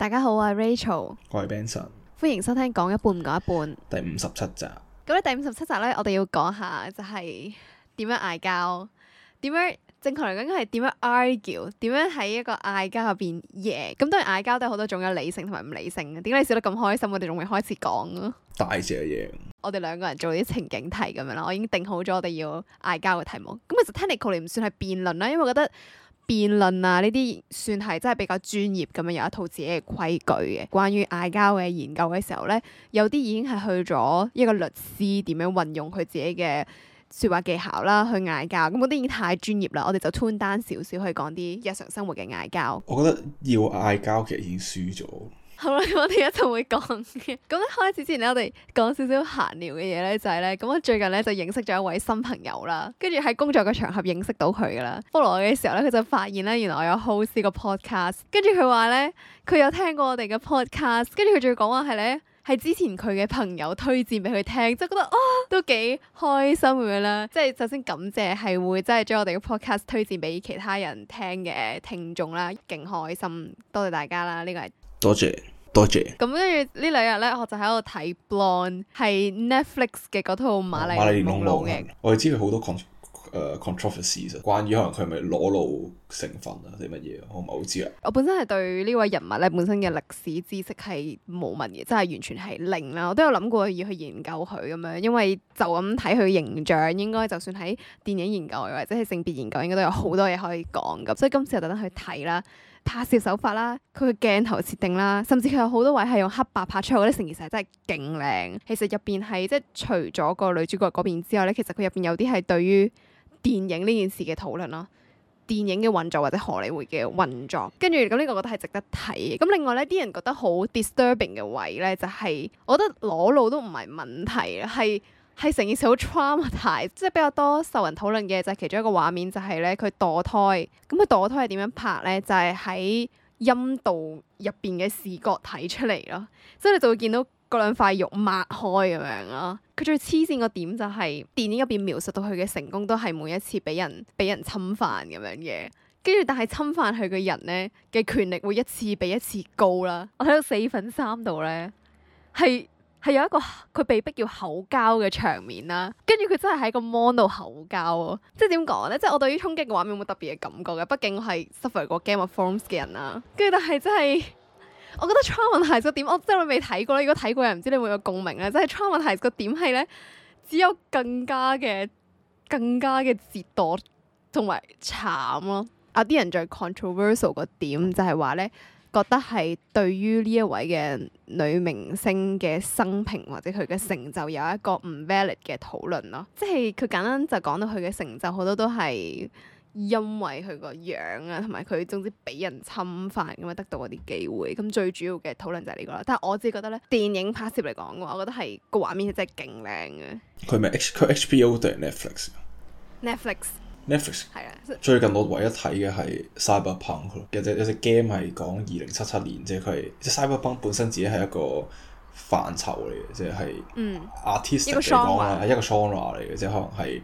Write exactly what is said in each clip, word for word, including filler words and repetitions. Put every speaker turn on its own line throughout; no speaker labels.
大家好，我係 Rachel，
我係 Benson，
歡迎收聽講一半唔講一半
第五十七集。
咁咧第五十七集咧，我哋要講下就係點樣嗌交，點樣正確嚟講應該係點樣 argue，點樣喺一個嗌交入邊贏。咁當然嗌交都有好多種嘅理性同埋唔理性嘅。點解你笑得咁開心？我哋仲未開始講啊！
大隻贏。我
哋兩個人做啲情景題咁樣啦，我已經定好咗我哋要嗌交嘅題目。咁其實 technically 唔算係辯論啦，因為我覺得辯論啊呢啲算係真係比較專業咁樣，有一套自己嘅規矩嘅。關於嗌交嘅研究嘅時候咧，有啲已經係去咗一個律師點樣運用佢自己嘅說話技巧啦，去嗌交。咁嗰啲已經太專業啦，我哋就 tune down 少少去講啲日常生活嘅嗌交。
我覺得要嗌交其實已經輸咗。
好啦，咁我哋一陣會講嘅。咁一開始之前咧，我哋講少少閒聊嘅嘢咧，就係咧，咁我最近咧就認識咗一位新朋友啦，跟住喺工作嘅場合認識到佢噶啦。follow我嘅時候咧，佢就發現咧，原來我有 host 個 podcast，跟住佢話咧，佢有聽過我哋嘅 podcast，跟住佢仲要講話係咧，係之前佢嘅朋友推薦俾佢聽，即係覺得啊、哦，都幾開心咁樣啦。即係首先感謝係會真係將我哋嘅 podcast 推薦俾其他人聽嘅聽眾啦，勁開心，多謝大家啦，呢個係
多謝。多謝。
咁跟住呢兩日咧，我就喺度睇 Blonde，係 Netflix 嘅嗰套瑪麗蓮夢露嘅。
我哋知佢好多 con 誒、uh, controversies，關於可能佢係咪裸露成分啊定乜嘢，我唔係好知啊。
我本身係對呢位人物咧本身嘅歷史知識係冇乜嘢，真係完全係零啦。我都有諗過要去研究佢咁樣，因為就咁睇佢形象，應該就算喺電影研究或者係性別研究，應該都有好多嘢可以講咁。所以今次就特登去睇啦。拍攝手法啦，佢嘅鏡頭設定啦，甚至佢有好多位係用黑白拍出嚟，我覺得成件事係真係勁靚。其實入邊係即係除咗個女主角嗰邊之外咧，其實佢入邊有啲係對於電影呢件事嘅討論咯，電影嘅運作或者荷里活嘅運作。跟住咁呢個我覺得係值得睇嘅。咁另外咧，啲人覺得好 disturbing 嘅位咧，就係、是、我覺得裸露都唔係問題，係。係成件事好 traumatized，即係比較多受人討論嘅就係其中一個畫面，就係咧佢墮胎。咁佢墮胎係點樣拍咧？就係喺陰道入邊嘅視覺睇出嚟咯，所以你就會見到嗰兩塊肉擘開咁樣咯。佢最黐線個點就係電影入邊描述到佢嘅成功都係每一次俾人俾人侵犯咁樣嘅，跟住但係侵犯佢嘅人咧嘅權力會一次比一次高啦。我睇到四分三度咧係。係有一個佢被逼要口交嘅場面啦，跟住佢真係喺個 mon 度口交喎，即係點講咧？即係我對於衝擊嘅畫面冇特別嘅感覺嘅，畢竟我係 suffer 過 Game of Thrones 嘅人啦。跟住但係真係，我覺得 traumatise 個點，我真係未睇過啦。如果睇過人唔知你會唔會有共鳴咧？即係 traumatise 個點係咧，只有更加嘅、更加嘅折墮同埋慘咯。啊！啲人最 controversial 個點就係話咧。覺得係對於呢一位嘅女明星嘅生平或者佢嘅成就有一個唔 valid 嘅討論咯，即係佢簡單就講到佢嘅成就好多都係因為佢個樣啊，同埋佢總之俾人侵犯咁樣得到嗰啲機會，咁最主要嘅討論就係呢個啦。但係我自己覺得咧，電影拍攝嚟講嘅話，我覺得係個畫面係真係勁靚嘅。
佢咪 H 佢 H B O 定係 Netflix？Netflix。
Netflix 係啊，
最近我唯一睇嘅係 Cyberpunk 咯，有隻有隻 game 係講二零七七年，即係佢係即係 Cyberpunk 本身自己係一個範疇嚟嘅，即係嗯 artistic 嚟講啊，係一個 genre 嚟嘅，即係可能係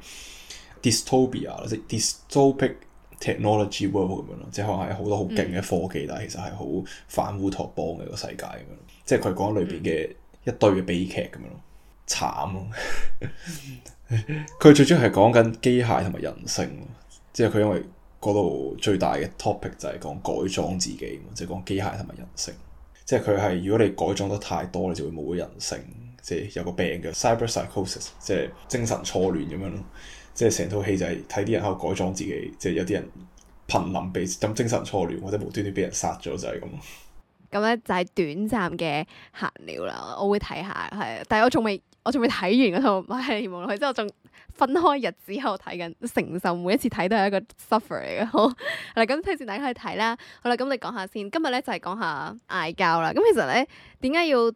dystopia 即係 dystopic technology world 咁樣咯，即係可能係好多好勁嘅科技，嗯、但係其實係好反烏托邦嘅一個世界咁樣，即係佢講裏邊嘅一堆嘅悲劇咁樣咯，慘咯。佢最主要係講緊機械同埋人性，即係佢因為嗰度最大嘅 topic 就係講改裝自己，即係講機械同埋人性。即係佢係如果你改裝得太多，你就會冇咗人性，即係有個病嘅 cyber psychosis，即係精神錯亂咁樣咯。即係成套戲就係睇啲人喺度改裝自己，即係有啲人瀕臨被咁精神錯亂，或者無端端俾人殺咗就係咁。咁咧就係短暫嘅閒聊啦，我會睇下係，但係我仲未。我仲未睇完嗰套《瑪麗蓮夢露》，之後仲分開日子後睇緊，承受每一次睇都係一個 suffer 嚟嘅。好，嗱咁推薦大家去睇啦。好啦，咁你講下先。今日咧就係講下嗌交啦。咁其實咧點解要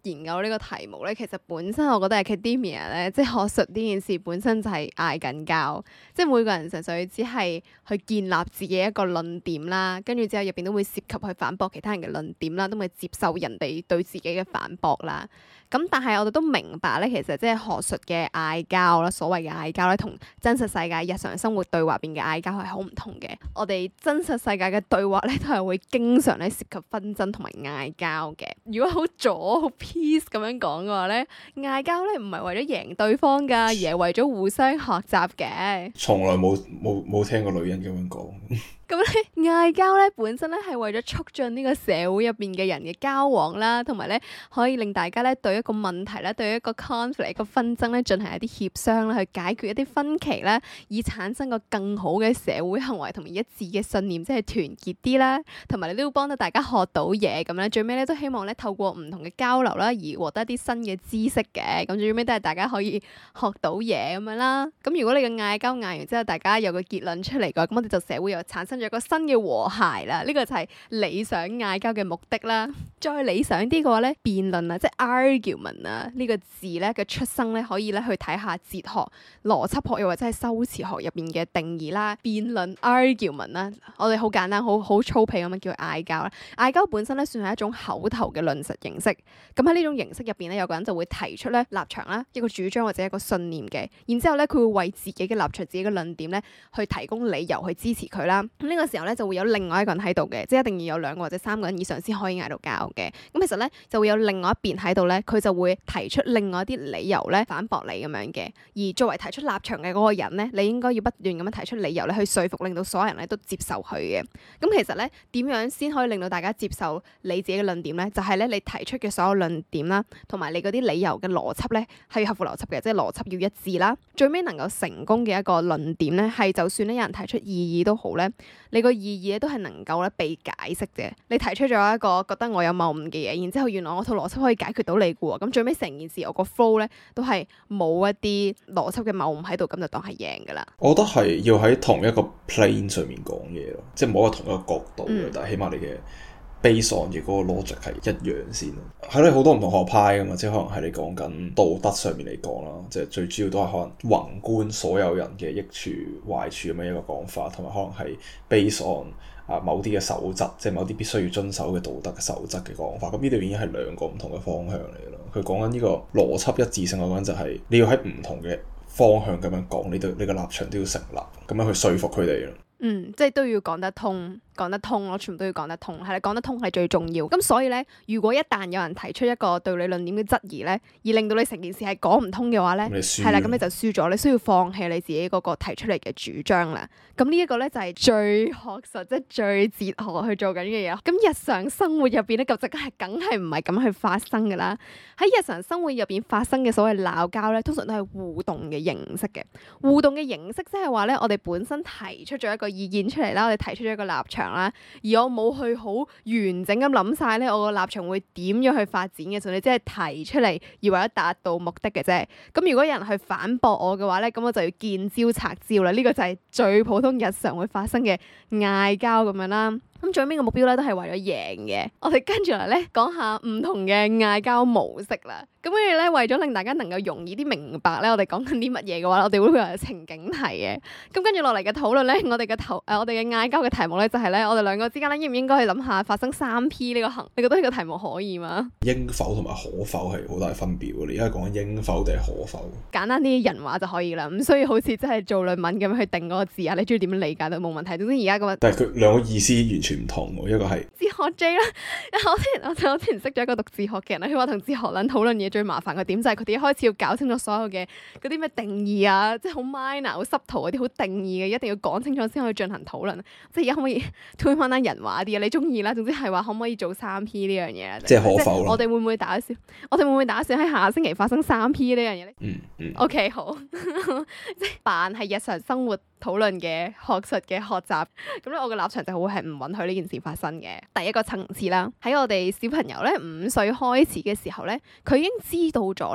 研究呢個題目咧，其實本身我覺得 academia 咧，即係學術呢件事本身就係嗌緊交，即係每個人純粹只係去建立自己一個論點啦，跟住之後入邊都會涉及去反駁其他人嘅論點啦，都會接受人哋對自己嘅反駁啦。咁但係我哋都明白咧，其實即係學術嘅嗌交啦，所謂嘅嗌交咧，同真實世界日常生活對話入邊嘅嗌交係好唔同嘅。我哋真實世界嘅對話咧，都係會經常咧涉及紛爭同埋嗌交嘅。如果好左好 peace 咁樣講嘅話咧，嗌交咧唔係為咗贏對方噶，而係為咗互相學習嘅。
從來冇冇冇聽過女人咁樣講。
咁咧嗌交咧本身咧係為咗促進呢個社會入邊嘅人嘅交往啦，同埋咧可以令大家咧對一個問題咧，對一個 conflict 一個紛爭咧進行一啲協商啦，去解決一啲分歧啦，以產生個更好嘅社會行為同埋一致嘅信念，即係團結啲啦，同埋你都要幫到大家學到嘢咁咧。最尾咧都希望咧透過唔同嘅交流啦，而獲得一啲新嘅知識嘅。咁最尾都係大家可以學到嘢咁樣啦。咁如果你嘅嗌交嗌完之後，大家有個結論出嚟嘅，咁我哋就社會又產生咗一個新嘅和諧啦，呢、這個就係理想嗌交嘅目的啦。再理想啲嘅話咧，辯論啊，即係 argument 啊，呢、這個字咧嘅出生咧，可以咧去睇下哲學、邏輯學又或者係修辭學入邊嘅定義啦。辯論 argument 啦，我哋好簡單、好好粗鄙咁樣叫嗌交啦。嗌交本身咧算係一種口頭嘅論述形式。咁喺呢種形式入邊咧，有個人就會提出咧立場啦，一個主張或者一個信念嘅，然之後咧佢會為自己嘅立場、自己嘅論點咧去提供理由去支持佢啦。咁、這、呢個時候咧就會有另外一個人喺度嘅，即係一定要有兩個或者三個人以上先可以嗌到交嘅。咁其實咧就會有另外一邊喺度咧，佢就會提出另外一啲理由咧反駁你咁樣嘅。而作為提出立場嘅嗰個人咧，你應該要不斷咁樣提出理由咧去說服，令到所有人咧都接受佢嘅。咁其實咧點樣先可以令到大家接受你自己嘅論點咧？就係咧你提出嘅所有論點啦，同埋你嗰啲理由嘅邏輯咧係要合乎邏輯嘅，即係邏輯要一致啦。最尾能夠成功嘅一個論點咧，係就算咧有人提出異議都好咧，你個異議咧都係能夠咧被解釋嘅。你提出咗一個覺得我有謬誤嘅嘢，然之後原來我套邏輯可以解決到你嘅喎，咁最尾成件事我個 flow 咧都係冇一啲邏輯嘅謬誤喺度，咁就當係贏噶啦。
我覺得係要喺同一個 plane 上面講嘢咯，即係冇喺同一個角度，嗯、但係起碼你嘅 base on 嘅嗰個 logic 係一樣先咯。係咯，好多唔同學派噶嘛，即係可能係你講緊道德上面嚟講啦，即係最主要都係可能宏觀所有人嘅益處壞處咁樣一個講法，同埋可能係 base on 啊某啲嘅守則，即係某啲必須要遵守嘅道德嘅守則嘅講法。咁呢度已經係兩個唔同嘅方向嚟咯。佢講緊呢個邏輯一致性，我講緊就係你要喺唔同嘅方向咁樣講，你對你個立場都要成立，咁樣去說服佢哋咯。
嗯，即係都要講得通。講得通咯，全部都要講得通，係啦，講得通係最重要。咁所以咧，如果一旦有人提出一個對你論點嘅質疑咧，而令到你成件事係講唔通嘅話咧，係啦，咁你就輸咗，你需要放棄你自己嗰個提出嚟嘅主張啦。咁呢一個咧就係最學術，即係最哲學去做緊嘅嘢。咁日常生活入邊咧，就即係梗係唔係咁去發生噶啦。喺日常生活入邊發生嘅所謂鬧交咧，通常都係互動嘅形式嘅。互動嘅形式即係話咧，我哋本身提出咗一個意見出嚟啦，我哋提出咗一個立場啦，而我冇去好完整咁諗晒咧，我個立場會點樣去發展嘅時候，你只係提出嚟而為咗達到目的嘅啫。咁如果有人去反駁我嘅話咧，咁我就要見招拆招啦。呢個就係最普通日常會發生嘅嗌交咁樣啦。咁最尾嘅目標咧都係為咗贏嘅。我哋跟住嚟咧講下唔同嘅嗌交模式啦。咁跟住咧為咗令大家能夠容易啲明白咧，我哋講緊啲乜嘢嘅話，我哋會有情景題嘅。咁跟住落嚟嘅討論咧，我哋嘅頭誒，我哋嘅嗌交嘅題目咧就係咧，我哋兩個之間咧應唔應該去諗下發生三 P 呢個行？你覺得呢個題目可以嗎？
應否同埋可否係好大分別喎？你而家講緊應否定係可否？
簡單啲人話就可以啦，唔需要好似真係做論文咁樣去定嗰個字啊。你中意點樣理解都冇問題。總之而家咁樣，
但係佢兩個意思完全唔同喎，一個係
哲學 J 啦。我之前我我之前識咗一個讀哲學嘅人啦，佢話同哲學撚討論嘢最麻煩嘅點就係佢哋一開始要搞清楚所有嘅嗰啲咩定義啊，即係好 minor 好濕圖嗰啲好定義嘅，一定要講清楚先可以進行討論。即係而家可唔可以推翻單人話啲啊？你中意啦，總之係話可唔可以做三 P 呢樣嘢啦？
即係可否？
我哋會唔會打算？我哋會唔會打算喺下星期發生三 P 呢樣嘢咧？
嗯嗯。
OK 好，即係扮係日常生活討論嘅學術嘅學習。咁咧，我嘅立場就會係唔允許呢件事發生嘅。第一個層次啦，喺我哋小朋友咧五歲開始嘅時候咧，佢已經知道咗咧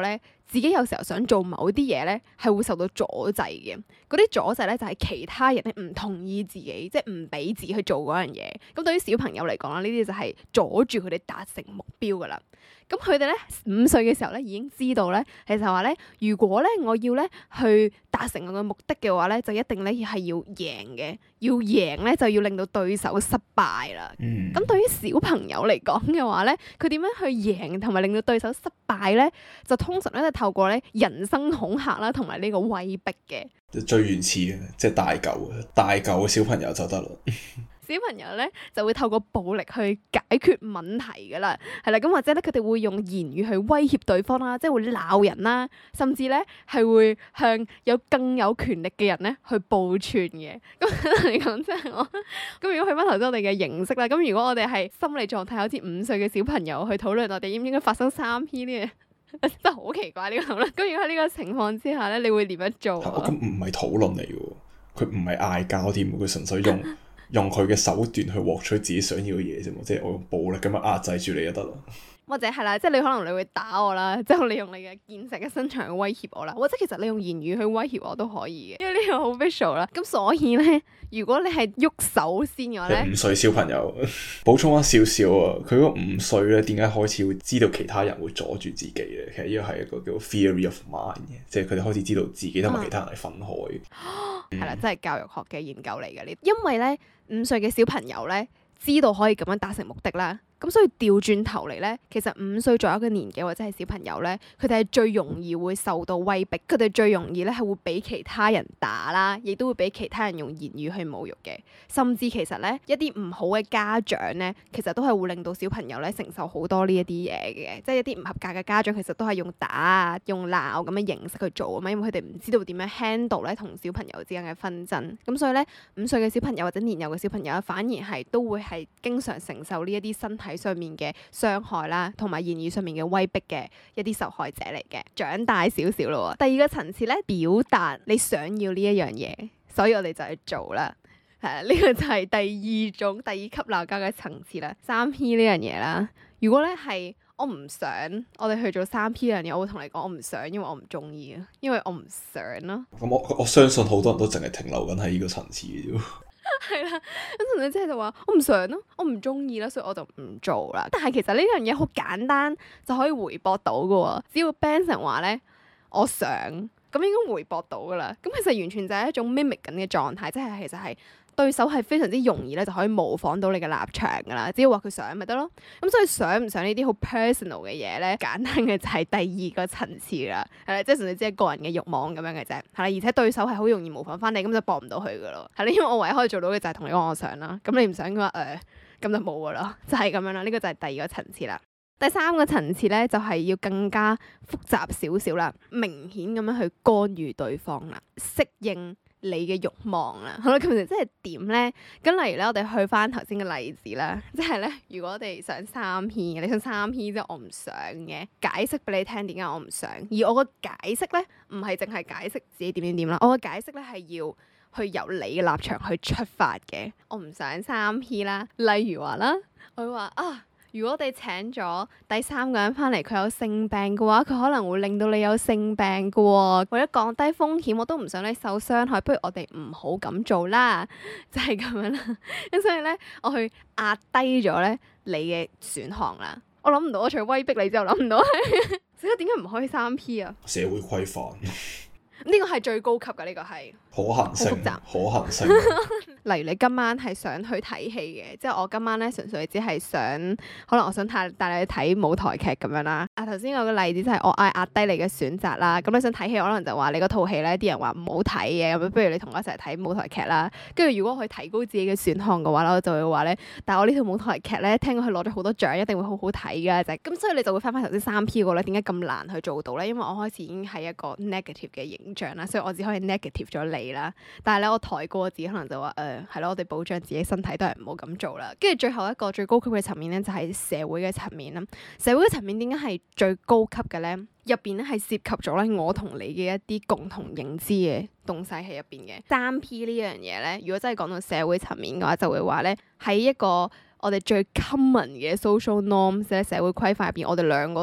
自己有時候想做某啲嘢咧，係會受到阻滯嘅。嗰啲阻滯咧就係其他人咧唔同意自己，即係唔俾自己去做嗰樣嘢。咁對於小朋友嚟講啦，呢啲就係阻住佢哋達成目標噶啦。咁佢哋咧五歲嘅時候咧已經知道咧，其實話咧，如果咧我要咧去達成我嘅目的嘅話咧，就一定咧係要贏嘅，要贏咧就要令到對手失敗啦。咁、嗯、對於小朋友嚟講嘅話咧，佢點樣去贏同埋令到對手失敗咧？就通常咧就透過咧人生恐嚇啦，同埋呢個威逼嘅。
最原始嘅，即係大嚿大嚿嘅小朋友就得啦。
小朋友咧就會透過暴力去解決問題噶啦，係啦，咁或者咧佢哋會用言語去威脅對方啦，即係會鬧人啦，甚至咧係會向有更有權力嘅人咧去報串嘅。咁嚟講，即係我咁如果去翻頭先我哋嘅形式啦，咁如果我哋係心理狀態好似五歲嘅小朋友去討論我哋應唔應該發生三 P 呢嘢，真係好奇怪呢個討論。咁如果喺呢個情況之下咧，你會點樣做啊？
咁唔係討論嚟嘅，佢唔係嗌交添，佢純粹用。用佢嘅手段去獲取自己想要嘅嘢啫嘛，即係我用暴力咁樣壓制住你就得啦。或者係啦，即係你可能你會打我啦，之後你用你嘅健碩嘅身長去威脅我啦，或者其實你用言語去威脅我都可以嘅，因為呢個好 visual 啦。咁所以咧，如果你係喐手先嘅話咧， 五歲小朋友補充翻少少啊，佢嗰五歲咧點解開始會知道其他人會阻住自己咧？其實呢個係一個叫 theory of mind 嘅，即係佢哋開始知道自己同埋其他人係分開。
係啦，真係教育學嘅研究嚟嘅呢，因為咧五歲嘅小朋友咧知道可以咁樣達成目的啦。咁所以調轉頭嚟咧，其實五歲左右嘅年紀或者係小朋友咧，佢哋係最容易會受到威逼，佢哋最容易咧係會俾其他人打啦，亦都會俾其他人用言語去侮辱嘅。甚至其實咧一啲唔好嘅家長咧，其實都係會令到小朋友咧承受好多呢一啲嘢嘅，即係一啲唔合格嘅家長其實都係用打啊、用鬧咁嘅形式去做啊嘛，因為佢哋唔知道點樣 handle 咧同小朋友之間嘅紛爭。咁所以咧五歲嘅小朋友或者年幼嘅小朋友反而係都會係經常承受呢一啲身體喺上面嘅傷害啦，同埋言語上面嘅威逼嘅一啲受害者嚟嘅。長大少少咯，第二個層次咧，表達你想要呢一樣嘢，所以我哋就去做啦。係啊，呢個就係第二種第二級鬧交嘅層次啦。三 P 呢樣嘢啦，如果咧係我唔想我哋去做三 P 呢樣嘢，我會同你講我唔想，因為我唔中意啊，因為我唔想咯。
咁我我相信好多人都淨係停留緊喺呢個層次嘅啫。
係啦，咁同你即係就話我唔想咯，我唔中意啦，所以我就唔做啦。但係其實呢樣嘢好簡單就可以回駁到噶，只要 Benson 話咧我想，咁應該回駁到噶啦。咁其實完全就係一種 mimic 緊嘅狀態，即係其實係對手係非常之容易咧就可以模仿到你嘅立場噶啦。只要話佢想咪得咯。咁所以想唔想呢啲好 personal 嘅嘢咧，簡單嘅就係第二個層次啦。係啦，即係純粹只係個人嘅慾望咁樣嘅啫。係啦，而且對手係好容易模仿翻你，咁就駁唔到佢噶咯。係啦，因為我唯一可以做到嘅就係同你講我想啦。咁你唔想嘅話，誒、呃，咁就冇噶啦，就係咁樣啦。呢個就係第二個層次啦。第三個層次咧，就係要更加複雜少少啦，明顯咁樣去干預對方啦，適應你嘅慾望啦。好啦，咁其實即係點咧？咁例如咧，我哋去翻頭先嘅例子啦，即係咧，如果我哋想三 P，你想三 P 即係我唔想嘅，解釋俾你聽點解我唔想。而我個解釋咧，唔係淨係解釋自己點點點啦，我個解釋咧係要去由你嘅立場去出發嘅。我唔想三 P 啦，例如話啦，我會話啊。如果我哋請咗第三個人翻嚟，佢有性病嘅話，佢可能會令到你有性病嘅喎。為咗降低風險，我都唔想你受傷害，不如我哋唔好咁做啦，就係咁樣啦。咁所以咧，我去壓低咗咧你嘅選項啦。我諗唔到，我除咗威逼你之後，諗唔到係，所以點解唔可以三 P 啊？
社會規範。
呢個係最高級嘅，呢個係
可行性，
複雜
可行性。
例如你今晚係想去睇戲嘅，即係我今晚咧純粹只係想，可能我想帶帶你去睇舞台劇咁樣啦。啊，頭先有個例子就係我嗌壓低你嘅選擇啦。咁你想睇戲，可能就話你嗰套戲咧，啲人話唔好睇嘅，咁不如你同我一齊睇舞台劇啦。跟住如果我去提高自己嘅選項嘅話咧，我就會話咧，但係我呢套舞台劇咧，聽講佢攞咗好多獎，一定會好好睇噶。就係咁，所以你就會翻翻頭先三 P 個咧，點解咁難去做到咧？因為我開始已經係一個 negative 嘅形象啦，所以我只可以 negative 咗你啦。但係咧，我抬高自己，可能就話誒係咯，我哋保障自己身體都係唔好咁做啦。跟住最後一個最高級嘅層面咧，就係社會嘅層面啦。社會嘅層面點解係最高級嘅咧？入邊咧係涉及咗咧我同你嘅一啲共同認知嘅東西喺入邊嘅。三 P 呢樣嘢咧，如果真係講到社會層面嘅話，就會話咧喺一個我哋最 common 嘅 social norms 咧，社會規範入邊，我哋兩個都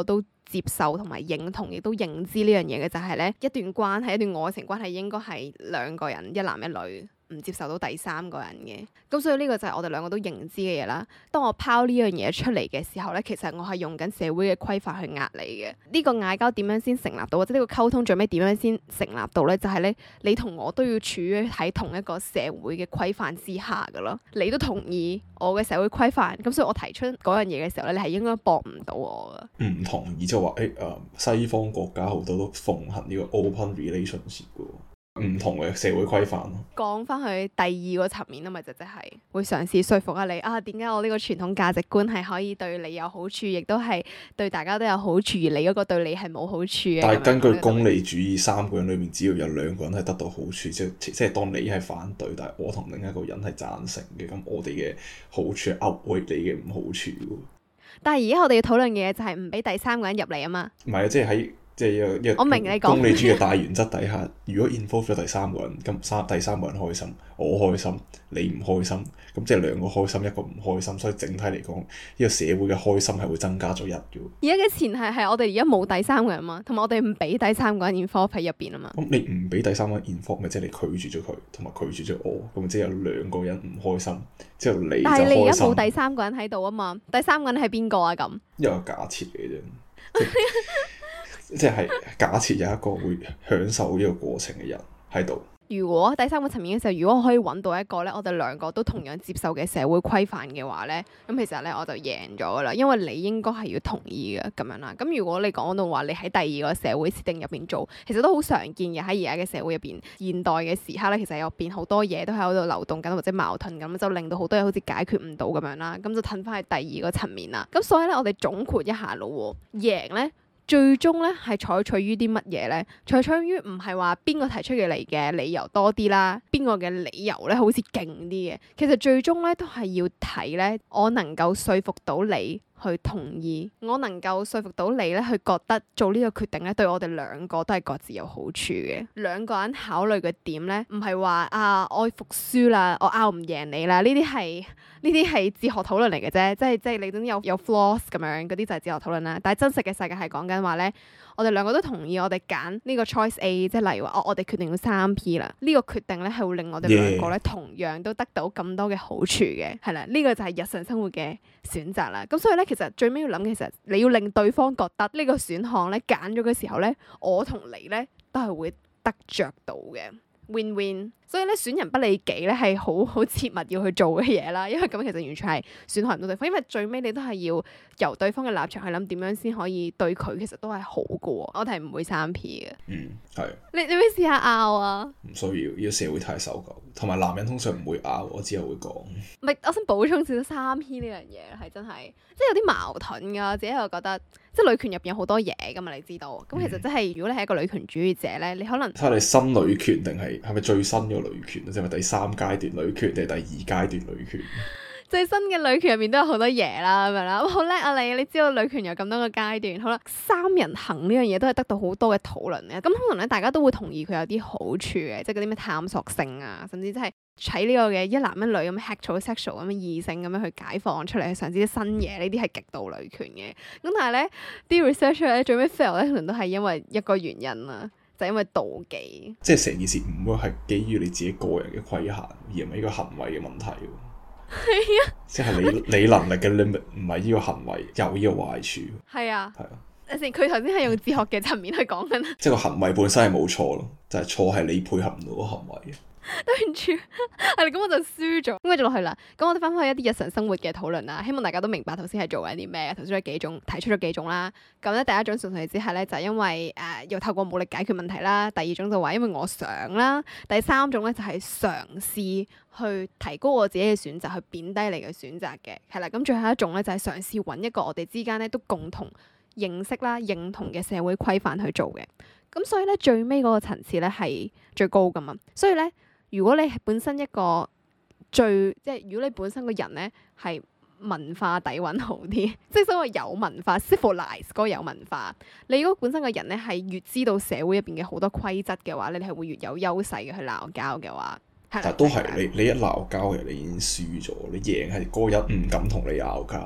接受同埋認同，亦都認知呢樣嘢嘅就係咧，一段關係，一段愛情關係應該係兩個人，一男一女。唔接受到第三個人嘅，咁所以呢個就係我哋兩個都認知嘅嘢啦。當我拋呢樣嘢出嚟嘅時候咧，其實我係用緊社會嘅規範去壓你嘅。呢個嗌交點樣先成立到，或者呢個溝通最尾點樣先成立到咧？就係咧，你同我都要處於喺同一個社會嘅規範之下噶咯。你都同意我嘅社會規範，咁所以我提出嗰樣嘢嘅時候咧，你係應該駁唔到我噶。唔
同意就話誒誒，西方國家好多都奉行呢個 open relationship 嘅。唔同嘅社會規範咯。講
翻去第二個層面啊嘛，就即係會嘗試說服下你啊，點解我呢個傳統價值觀係可以對你有好處，亦都係對大家都有好處，而你嗰個對你係冇好處嘅。
但係根據功利主義，三個人裏面只要有兩個人係得到好處，即係即係當你係反對，但係我同另一個人係贊成嘅，咁我哋嘅好處係 outweigh 你嘅唔好處。但係而家我哋要討論嘅嘢就係唔俾第三個人入嚟啊嘛。唔係啊，即係喺。即係一個一個功利主義嘅大原則底下，如果 involve 咗第三個人，咁三第三個人開心，我開心，你唔開心，咁即係兩個開心，一個唔開心，所以整體嚟講，呢個社會嘅開心係會增加咗一嘅。而家嘅前提係我哋而家冇第三個人嘛，同埋我哋唔俾第三個人 involve 喺入邊啊嘛。咁你唔俾第三個人 involve，咪即係你拒絕咗佢，同埋拒絕咗我，咁即係有兩個人唔開心，之後你就開心。但係你而家冇第三個人喺度啊嘛，第三個人係邊個啊？咁一個假設嚟嘅啫。即係假設有一個會享受呢個過程嘅人喺度。如果第三個層面嘅時候，如果我可以揾到一個咧，我哋兩個都同樣接受嘅社會規範嘅話咧，咁其實咧我就贏咗噶啦，因為你應該係要同意嘅咁樣啦。咁如果你講到話你喺第二個社會設定入邊做，其實都好常見嘅，喺而家嘅社會入邊，現代嘅時刻咧，其實入邊好多嘢都喺度流動緊或者矛盾咁，就令到好多嘢好似解決唔到咁樣啦。咁就褪翻去第二個層面啦。咁所以咧，我哋總括一下咯，贏咧。最終咧係採取於啲乜嘢咧？採取於唔係話邊個提出嘅嚟嘅理由多啲啦，邊個嘅理由咧好似勁啲嘅。其實最終咧都係要睇咧，我能夠說服到你去同意，我能夠說服到你咧去覺得做呢個決定咧對我哋兩個都係各自有好處嘅。兩個人考慮嘅點咧，唔係話啊我服輸啦，我拗唔贏你啦，呢啲係呢啲係哲學討論嚟嘅啫，即係即係你總有有 flaws 咁樣，嗰啲就係哲學討論啦。但係真實嘅世界係講緊話咧，我哋兩個都同意我哋揀呢個 choice A，即係例如話哦，我哋決定要三 P 啦，呢個決定咧係會令我哋兩個咧同樣都得到咁多嘅好處嘅，係啦，呢個就係日常生活嘅選擇啦。咁所以咧，其實最尾要諗嘅，其實你要令對方覺得呢個選項咧揀咗嘅時候咧，我同你咧都係會得着到嘅 win win。所以咧，選人不利己咧係好好切勿要去做嘅嘢啦，因為咁其實完全係損害唔到對方，因為最尾你都係要由對方嘅立場去諗點樣先可以對佢，其實都係好嘅喎。我哋係唔會三 P 嘅。嗯，係。你你會試下拗啊？唔需要，呢個社會太守舊，同埋男人通常唔會拗，我之後會講。唔係，我想補充少少三 P 呢樣嘢係真係，即係有啲矛盾㗎。我自己又覺得，即係女權入邊有好多嘢㗎嘛，你知道。咁、嗯、其實即係如果你係一個女權主義者咧，你可能睇下你新女權定係係咪最新嘅女權，即係咪第三階段女權定係第二階段女權？最新嘅女權入面都有好多嘢啦，咁樣啦，好叻啊你！你知道女權有咁多個階段，好啦，三人行呢樣嘢都係得到好多嘅討論嘅。咁可能咧，大家都會同意佢有啲好處嘅，即係嗰啲咩探索性啊，甚至即係喺呢個嘅一男一女咁 heterosexual 咁嘅異性咁樣去解放出嚟，去嘗試啲新嘢，呢啲係極度女權嘅。咁但係咧，啲 researcher 咧最尾 fail 咧，可能都係因為一個原因啦。就因為妒忌，即係成件事唔會係基於你自己個人嘅規限，而唔係呢個行為嘅問題。係啊，即係你你能力嘅 limit 唔係呢個行為有呢個壞處。係啊，係啊。有時佢頭先係用哲學嘅層面去講緊，即係個行為本身係冇錯咯，就係錯係你配合唔到個行為。對唔住，係咁我就輸咗。咁繼續落去啦。咁我哋翻返去一啲日常生活嘅討論啦。希望大家都明白頭先係做緊啲咩。頭先有幾種提出咗幾種啦。咁咧第一種純粹之下咧，就係因為誒、呃、要透過武力解決問題啦。第二種就話因為我想啦。第三種咧就係嘗試去提高我自己嘅選擇，去貶低你嘅選擇嘅。係啦，咁最後一種咧就係嘗試揾一個我哋之間咧都共同認識啦、認同嘅社會規範去做嘅。咁所以咧最尾嗰個層次咧係最高噶嘛。所以咧。如果你係本身一個最即係，如果你本身個人咧係文化底蘊好啲，即係所謂有文化 civilize 嗰個有文化，你如果本身個人咧係越知道社會入邊嘅好多規則嘅話，你係會越有優勢嘅去鬧交嘅話，但都係你你一鬧交嘅，你已經輸咗，你贏係嗰個人唔敢同你拗交。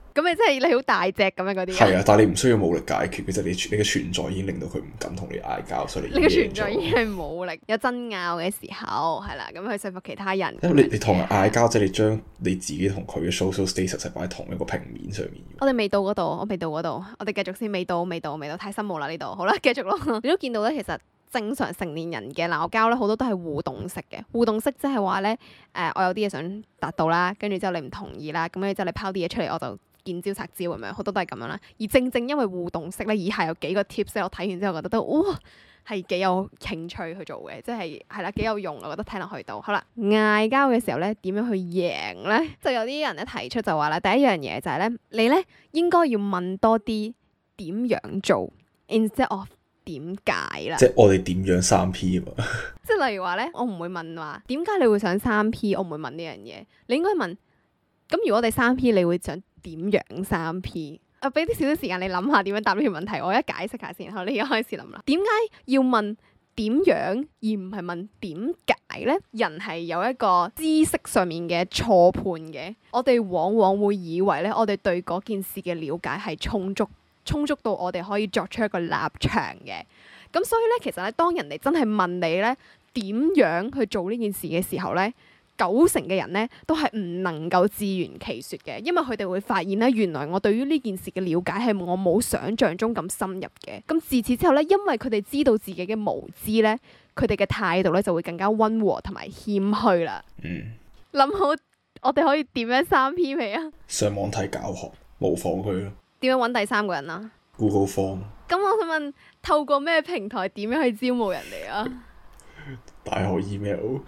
咁你真係你好大隻咁樣嗰啲。
係啊，但係你唔需要武力解決，其實你你嘅存在已經令到佢唔敢同你嗌交，所以你
嘅存在已經係武力，有爭拗嘅時候係啦，咁去說服其他人。
因為你你同人嗌交，即係你將你自己同佢嘅 social status 係擺喺同一個平面上面。
我哋未到嗰度，我未到嗰度，我哋繼續先，未到，未到，未到，太深奧啦呢度。好啦，繼續咯。你都見到咧，其實正常成年人嘅鬧交咧，好多都係互動式嘅。互動式即係話咧，誒、呃，我有啲嘢想達到啦，跟住之後你唔同意啦，咁樣之後你拋啲嘢出嚟，我就見招拆招咁樣，好多都係咁樣啦。而正正因為互動式咧，以下有幾個 tips 我睇完之後覺得都哇係幾有興趣去做嘅，即係係啦幾有用，我覺得聽落去到。好啦，嗌交嘅時候咧，點樣去贏咧？就有啲人咧提出就話啦，第一樣嘢就係咧，你咧應該要問多啲點樣做 ，instead of 點解啦。
即係我哋點樣三 P 啊嘛。即
係例如話咧，我唔會問話點解你會想三 P，我唔會問呢樣嘢。你應該問咁如果我哋三 P，你會想點樣三 P？啊，俾啲少少時間你諗下點樣答呢條問題，我一解釋下先。然後你而家開始諗啦，點解要問點樣而唔係問點解咧？人係有一個知識上面嘅錯判嘅，我哋往往會以為咧，我哋對嗰件事嘅了解係充足，充足到我哋可以作出一個立場嘅。咁所以咧，其實咧，當人哋真係問你咧點樣去做呢件事嘅時候咧，九成嘅人咧都係唔能夠自圓其說嘅，因為佢哋會發現咧，原來我對於呢件事嘅了解係我冇想象中咁深入嘅。咁自此之後咧，因為佢哋知道自己嘅無知咧，佢哋嘅態度咧就會更加溫和同埋謙虛啦。嗯，諗好我哋可以點樣三 P 未啊？
上網睇教學，模仿佢咯。
點樣揾第三個人啊
？Google Form。咁
我想問，透過咩平台點樣去招募人哋啊？
大學 email。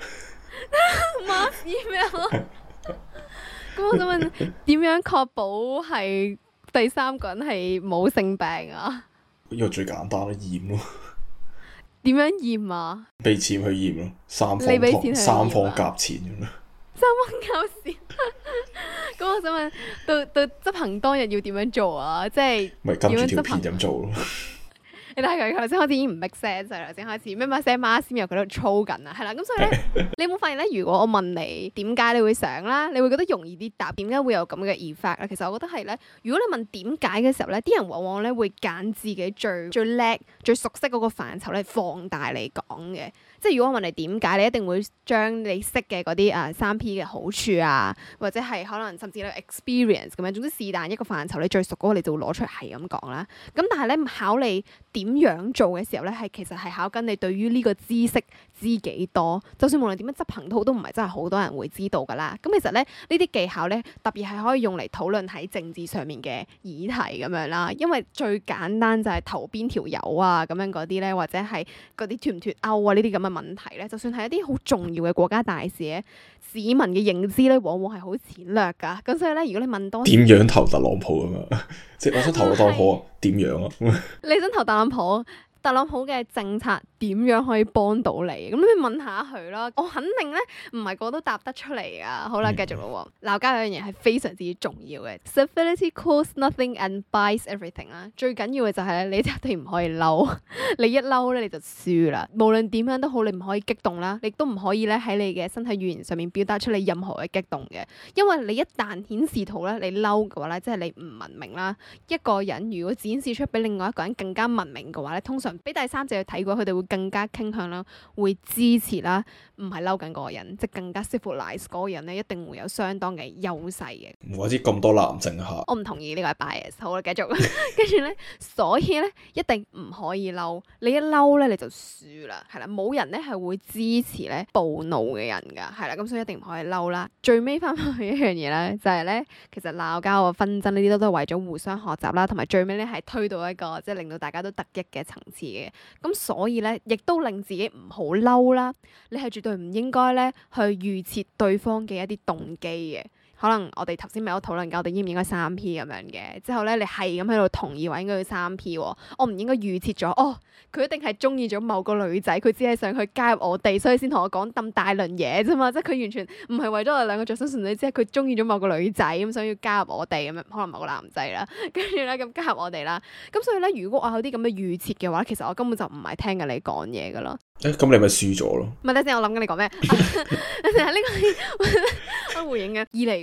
Mass email。咁我想問，點樣確保係第三個人係冇性病啊？
呢個最簡單咯，驗咯。
點樣驗啊？
俾錢去驗咯，三方同三方夾錢咁咯。
三方夾錢。咁我想問，到到執行當日要點樣做啊？即係
咪跟住條片咁做咯？
你睇佢頭先開始已經唔 make sense 啦，頭先開始咩咩聲媽先又佢喺度操緊啊，係啦，咁所以咧，你有冇發現咧？如果我問你點解你會想啦，你會覺得容易啲答，點解會有咁嘅 effect 咧？其實我覺得係咧，如果你問點解嘅時候咧，啲人往往咧會揀自己最最叻、最熟悉嗰個範疇咧放大嚟講嘅。即係如果我問你點解，你一定會將你識嘅嗰啲啊三 P 嘅好處啊，或者係可能甚至你 experience 咁樣，總之是但一個範疇你最熟嗰個，你就會攞出嚟係咁講啦。咁但係咧考你點樣做嘅時候咧，係其實係考緊你對於呢個知識知幾多。就算無論點樣執行都好，都唔係真係好多人會知道噶啦。咁其實咧呢啲技巧咧，特別係可以用嚟討論喺政治上面嘅議題咁樣啦。因為最簡單就係投邊條友啊咁樣嗰啲咧，或者係嗰啲脫唔脫歐啊呢啲咁嘅問題咧，就算係一啲好重要嘅國家大事咧，市民嘅認知咧往往係好淺略噶。咁所以咧，如果你問多
點樣投特朗普啊嘛，即係我想投特朗普點樣啊？
你想投特朗普？特朗普嘅政策點樣可以幫到你？咁你問下佢啦。我肯定咧，唔係個個都答得出嚟噶。好啦，繼續咯。鬧交有樣嘢係非常之重要嘅。Civility costs nothing and buys everything 啦。最緊要嘅就係咧，你一定唔可以嬲。你一嬲咧，你就輸啦。無論點樣都好，你唔可以激動啦，你都唔可以咧喺你嘅身體語言上面表達出你任何嘅激動嘅。因為你一旦顯示到咧你嬲嘅話咧，即係你唔文明啦。一個人如果展示出比另外一個人更加文明嘅話咧，通常俾第三者去睇過，佢哋會更加傾向啦，會支持啦，唔係嬲緊嗰個人，即係更加 civilize 嗰個人咧，一定會有相當嘅優勢嘅。
唔怪之咁多男性嚇，
我唔同意呢個係 bias。好啦，繼續。跟住咧，所以咧一定唔可以嬲，你一嬲咧你就輸啦，係啦，冇人咧係會支持咧暴怒嘅人㗎，係啦，咁所以一定唔可以嬲啦。最尾翻返去一樣嘢咧，就係咧，其實鬧交啊、紛爭呢啲都都係為咗互相學習啦，同埋最尾咧係推到一個即係令到大家都得益嘅層次嘅。咁所以咧，亦都令自己唔好嬲啦。你係絕對唔應該咧去預設對方嘅一啲動機嘅。可能我哋頭先咪有討論過，我哋應唔應該三 P 咁樣嘅。之後咧，你係咁喺度同意話應該要三 P 喎。我唔應該預設咗，哦，佢一定係中意咗某個女仔，佢只係想去加入我哋，所以先同我講咁大輪嘢啫嘛。即係佢完全唔係為咗我哋兩個着想純粹，只係佢中意咗某個女仔咁，想要加入我哋咁樣，可能某個男仔啦。跟住咧咁加入我哋啦。咁所以咧，如果我有啲咁嘅預設嘅話，其實我根本就唔係聽緊你講嘢噶啦。
誒，咁你咪輸咗咯？
唔係，等陣我諗緊你講咩？等陣呢個我回應嘅。二嚟嘅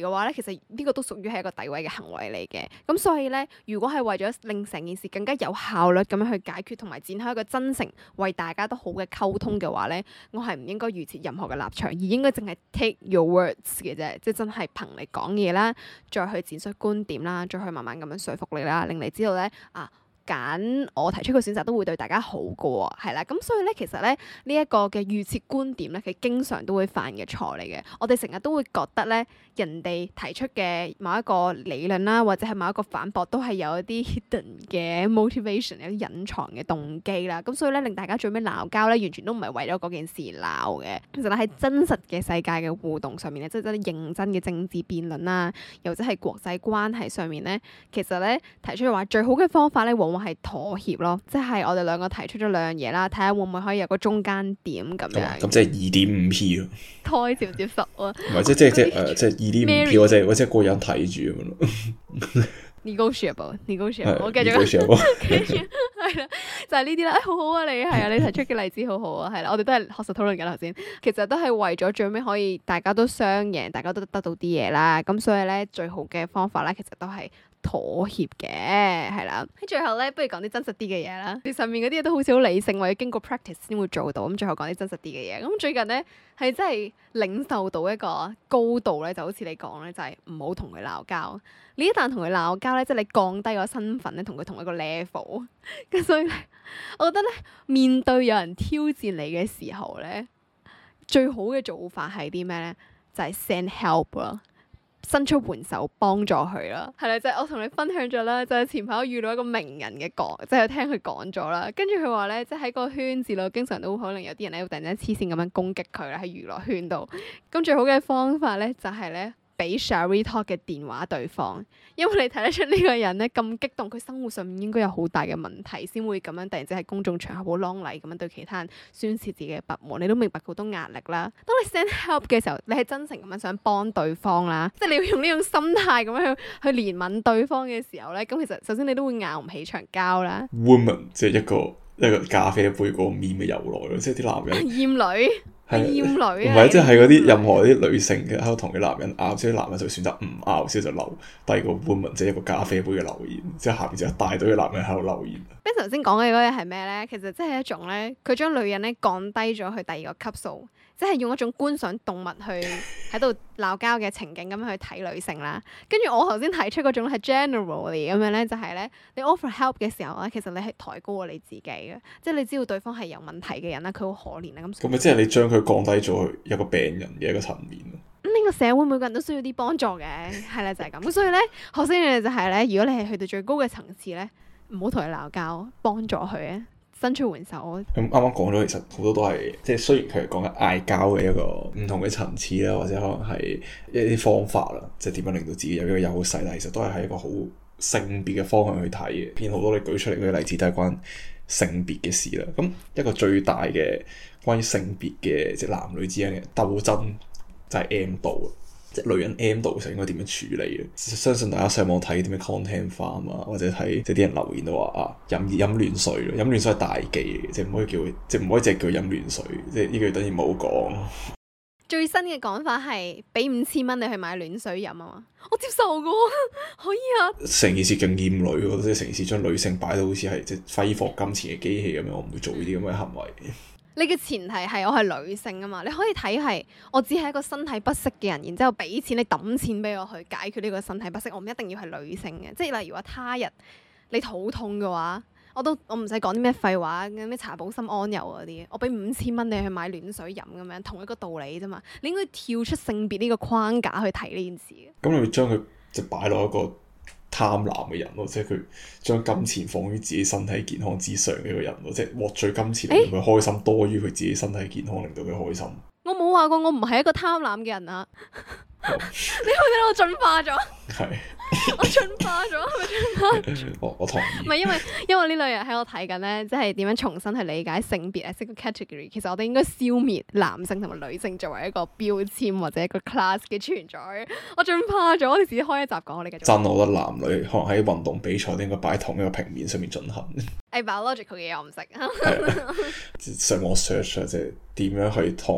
嘅話咧，其實呢個都屬於係一個詆毀嘅行為嚟嘅。咁所以咧，如果係為咗令成件事更加有效率咁樣去解決，同埋展開一個真誠為大家都好嘅溝通嘅話咧，我係唔應該預設任何嘅立場，而應該淨係 take your words 嘅啫，即係真係憑你講嘢啦，再去展述觀點啦，再去慢慢咁樣說服你啦，令你知道咧啊。揀我提出嘅選擇都會對大家好嘅喎，係啦，咁所以咧，其實咧呢一個嘅預設觀點咧，佢經常都會犯嘅錯嚟嘅。我哋成日都會覺得咧，人哋提出嘅某一個理論啦，或者係某一個反駁，都係有一啲 hidden 嘅 motivation，有啲隱藏嘅動機啦。咁所以咧，令大家最尾鬧交咧，完全都唔係為咗嗰件事鬧嘅。其實咧喺真實嘅世界嘅互動上面咧，即係真係認真嘅政治辯論啦，又或者係國際關係上面咧，其實咧提出嘅話最好嘅方法咧，往往係妥協咯，即係我哋兩個提出咗兩樣嘢啦，睇下會唔會可以有個中間點咁樣。
咁即係二點五 P 咯。胎
接唔接受啊？
唔係即即即誒即係二點五 P，我即係我即係個人睇住咁樣咯。
negotiable，negotiable，我繼續。跟住係啦，就係呢啲啦。誒，好好啊，你係啊，你提出嘅例子好好啊，係啦，我哋都係學術討論緊頭先。其實都係為咗最尾可以大家都雙贏，大家都得到啲嘢啦。咁所以咧，最好嘅方法咧，其實都係妥協嘅，係啦。喺最後咧，不如講啲真實啲嘅嘢啦。你上面嗰啲嘢都好似好理性，或者經過 practice 先會做到。咁最後講啲真實啲嘅嘢。咁最近咧係真係領受到一個高度咧，就好似你講咧，就係唔好同佢鬧交。你一旦同佢鬧交咧，即係你降低個身份咧，同佢同一個 level。咁所以咧，我覺得咧，面對有人挑戰你嘅時候咧，最好嘅做法係啲咩咧？就係 send help 咯。伸出援手幫助佢啦，係啦，就係、是、我同你分享咗啦，就係、是、前排我遇到一個名人嘅講，即係聽佢講咗啦，跟住佢話咧，即係喺個圈子度，經常都可能有啲人咧會突然間黐線咁樣攻擊佢啦，喺娛樂圈度。咁最好嘅方法咧，就係、是、咧。俾 Shari Talk 嘅電話對方，因為你睇得出呢個人咧咁激動，佢生活上面應該有好大嘅問題，先會咁樣突然之間喺公眾場合好啷禮咁樣對其他人宣泄自己嘅不滿。你都明白好多壓力啦。當你 send help 嘅時候，你係真誠咁樣想幫對方啦，即係你要用呢種心態咁樣去去憐憫對方嘅時候咧，咁其實首先你都會拗唔起場交啦。
Woman 即係一個一個咖啡杯個面嘅由來咯，即係啲男人
厭女。係厭女啊！
唔係，即係嗰啲任何啲女性嘅喺度同啲男人拗，即係男人就選擇唔拗，之後就留第二個 woman，即係一個咖啡杯嘅留言，之後下邊就一大堆嘅男人喺度留言。Ben 頭先講嘅嗰嘢係咩咧？其實即係一種咧，佢將女人咧降低咗去第二個級數，即係用一種觀賞動物去喺度鬧交嘅情景咁樣去睇女性啦。跟住我頭先提出嗰種係 generally 咁樣咧，就係咧你 offer help 嘅時候咧，其實你係抬高過你自己嘅，即係你知道對方係有問題嘅人啦，佢好可憐啊咁。咁咪即係你將佢降低咗去一個病人嘅一個層面咯。咁呢個社會每個人都需要啲幫助嘅，係啦就係咁。咁所以咧，學識嘅就係咧，如果你係去到最高嘅層次咧，唔好同佢鬧交，幫助佢啊，伸出援手。咁啱啱講咗，其實好多都係即係雖然佢係講緊嗌交嘅一個唔同嘅層次啦，或者可能係一啲方法啦，即係點樣令到自己有一個優勢，但係其實都係喺一個好性別嘅方向去睇嘅。偏好多你舉出嚟嗰啲例子都係關性別嘅事啦。咁一個最大嘅關於性別嘅即係男女之間嘅鬥爭就係 M 度，即係女人 M 度就應該點樣處理嘅？相信大家上網睇啲咩 content farm 啊，或者睇即係啲人留言都話啊，飲飲暖水咯，飲暖水係大忌嘅，即係唔可以叫即係唔可以淨係叫飲暖水，即係呢句等於冇講。最新嘅講法係俾五千蚊你去買暖水飲啊嘛，我接受噶，可以啊。成件事勁厭女，我覺得即係成件事將女性擺到好似係即係揮霍金錢嘅機器咁樣，我唔會做呢啲咁嘅行為。你嘅前提係我係女性啊嘛，你可以睇係我只係一個身體不適嘅人，然之後俾錢你抌錢俾我去解決呢個身體不適，我唔一定要係女性嘅，即係例如話他日你肚痛嘅話。我都我唔使講啲咩廢話，咩茶保心安柔嗰啲，我俾五千蚊你去買暖水飲咁樣，同一個道理啫嘛。你應該跳出性別呢個框架去睇呢件事嘅。咁你會將佢就擺落一個貪婪嘅人咯，即係佢將金錢放於自己身體健康之上嘅一個人咯，即係獲取金錢令佢開心、欸、多於佢自己身體健康令到佢開心。我冇話過我唔係一個貪婪嘅人啊！你覺得我進化咗？係。我進化咗，係咪進化咗？我我同意。唔係因為因為呢類人喺我睇緊咧，即係點樣重新去理解性別啊，即係個 category。其實我哋應該消滅男性同埋女性作為一個標籤或者一個 class 嘅存在。我進化咗，我哋自己開一集講，我哋繼續。真，我覺得男女可能喺運動比賽都應該擺喺同一個平面上面進行。誒 biological 嘅嘢我唔識。上網 search 啊，即係點樣去同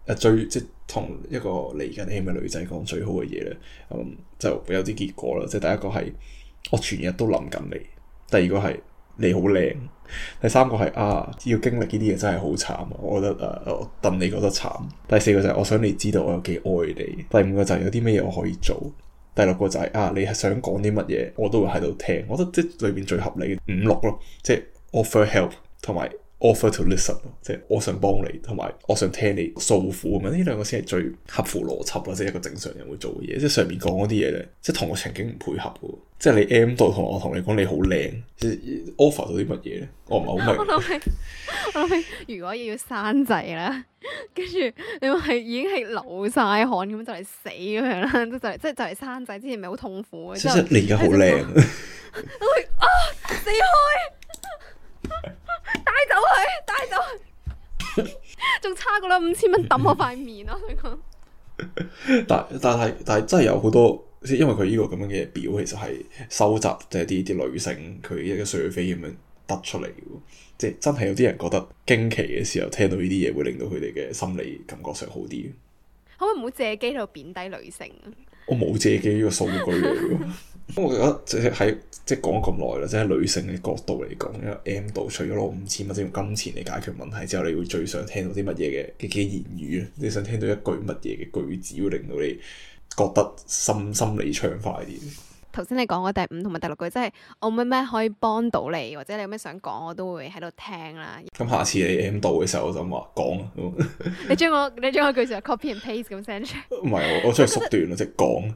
誒最即係同一個嚟緊 M 嘅女仔講最好嘅嘢咧，嗯就有啲結果啦。即係第一個係我全日都諗緊你，第二個係你好靚，第三個係啊要經歷呢啲嘢真係好慘，我覺得誒、啊、我戥你覺得慘。第四個就係我想你知道我有幾愛你。第五個就係有啲咩嘢我可以做。第六個就係、是、啊你係想講啲乜嘢我都會喺度聽。我覺得即係裏邊最合理嘅五六咯，即係 offer help 同埋 offer to listen， 即係我想幫你，同埋我想聽你訴苦咁樣，呢兩個先係最合乎邏輯啦，即係一個正常人會做嘅嘢。即係上面講嗰啲嘢咧，即係同個情景唔配合嘅。即係你 M 度同我同你講你好靚，offer 到啲乜嘢咧？我唔係好明。
我諗起，我諗起，如果要生仔啦，跟住你話係已經係流晒汗咁就嚟死咁樣啦，即係就嚟即係就嚟生仔之前咪好痛苦嘅。
即係你而家好靚。
我會啊死開！帶走佢，帶走佢，仲差過啦五千蚊抌我塊面咯！你講，
但但係但係真係有好多，因為佢呢個咁樣嘅表，其實係收集即係啲啲女性佢一個 survey 咁樣得出嚟嘅，即係真係有啲人覺得驚奇嘅時候，聽到呢啲嘢會令到佢哋嘅心理感覺上好啲。
可唔可以唔好借機喺度貶低女性啊？
我冇借機呢個數據嚟。咁我覺得即係喺即係講咗咁耐啦，即係喺女性嘅角度嚟講，因為 M 度除咗攞五千蚊即用金錢嚟解決問題之後，你會最想聽到啲乜嘢嘅嘅嘅言語啊？你想聽到一句乜嘢嘅句子會令到你覺得心心理暢快啲？
頭先你講嘅第五同埋第六句，即係我咩咩可以幫到你，或者你有咩想講，我都會喺度聽啦。咁
下次你 M 度嘅時候，我就話講啊。
你將我你將我句就 copy and paste 咁 send 出嚟。唔
係，我我將佢縮短咯，即係講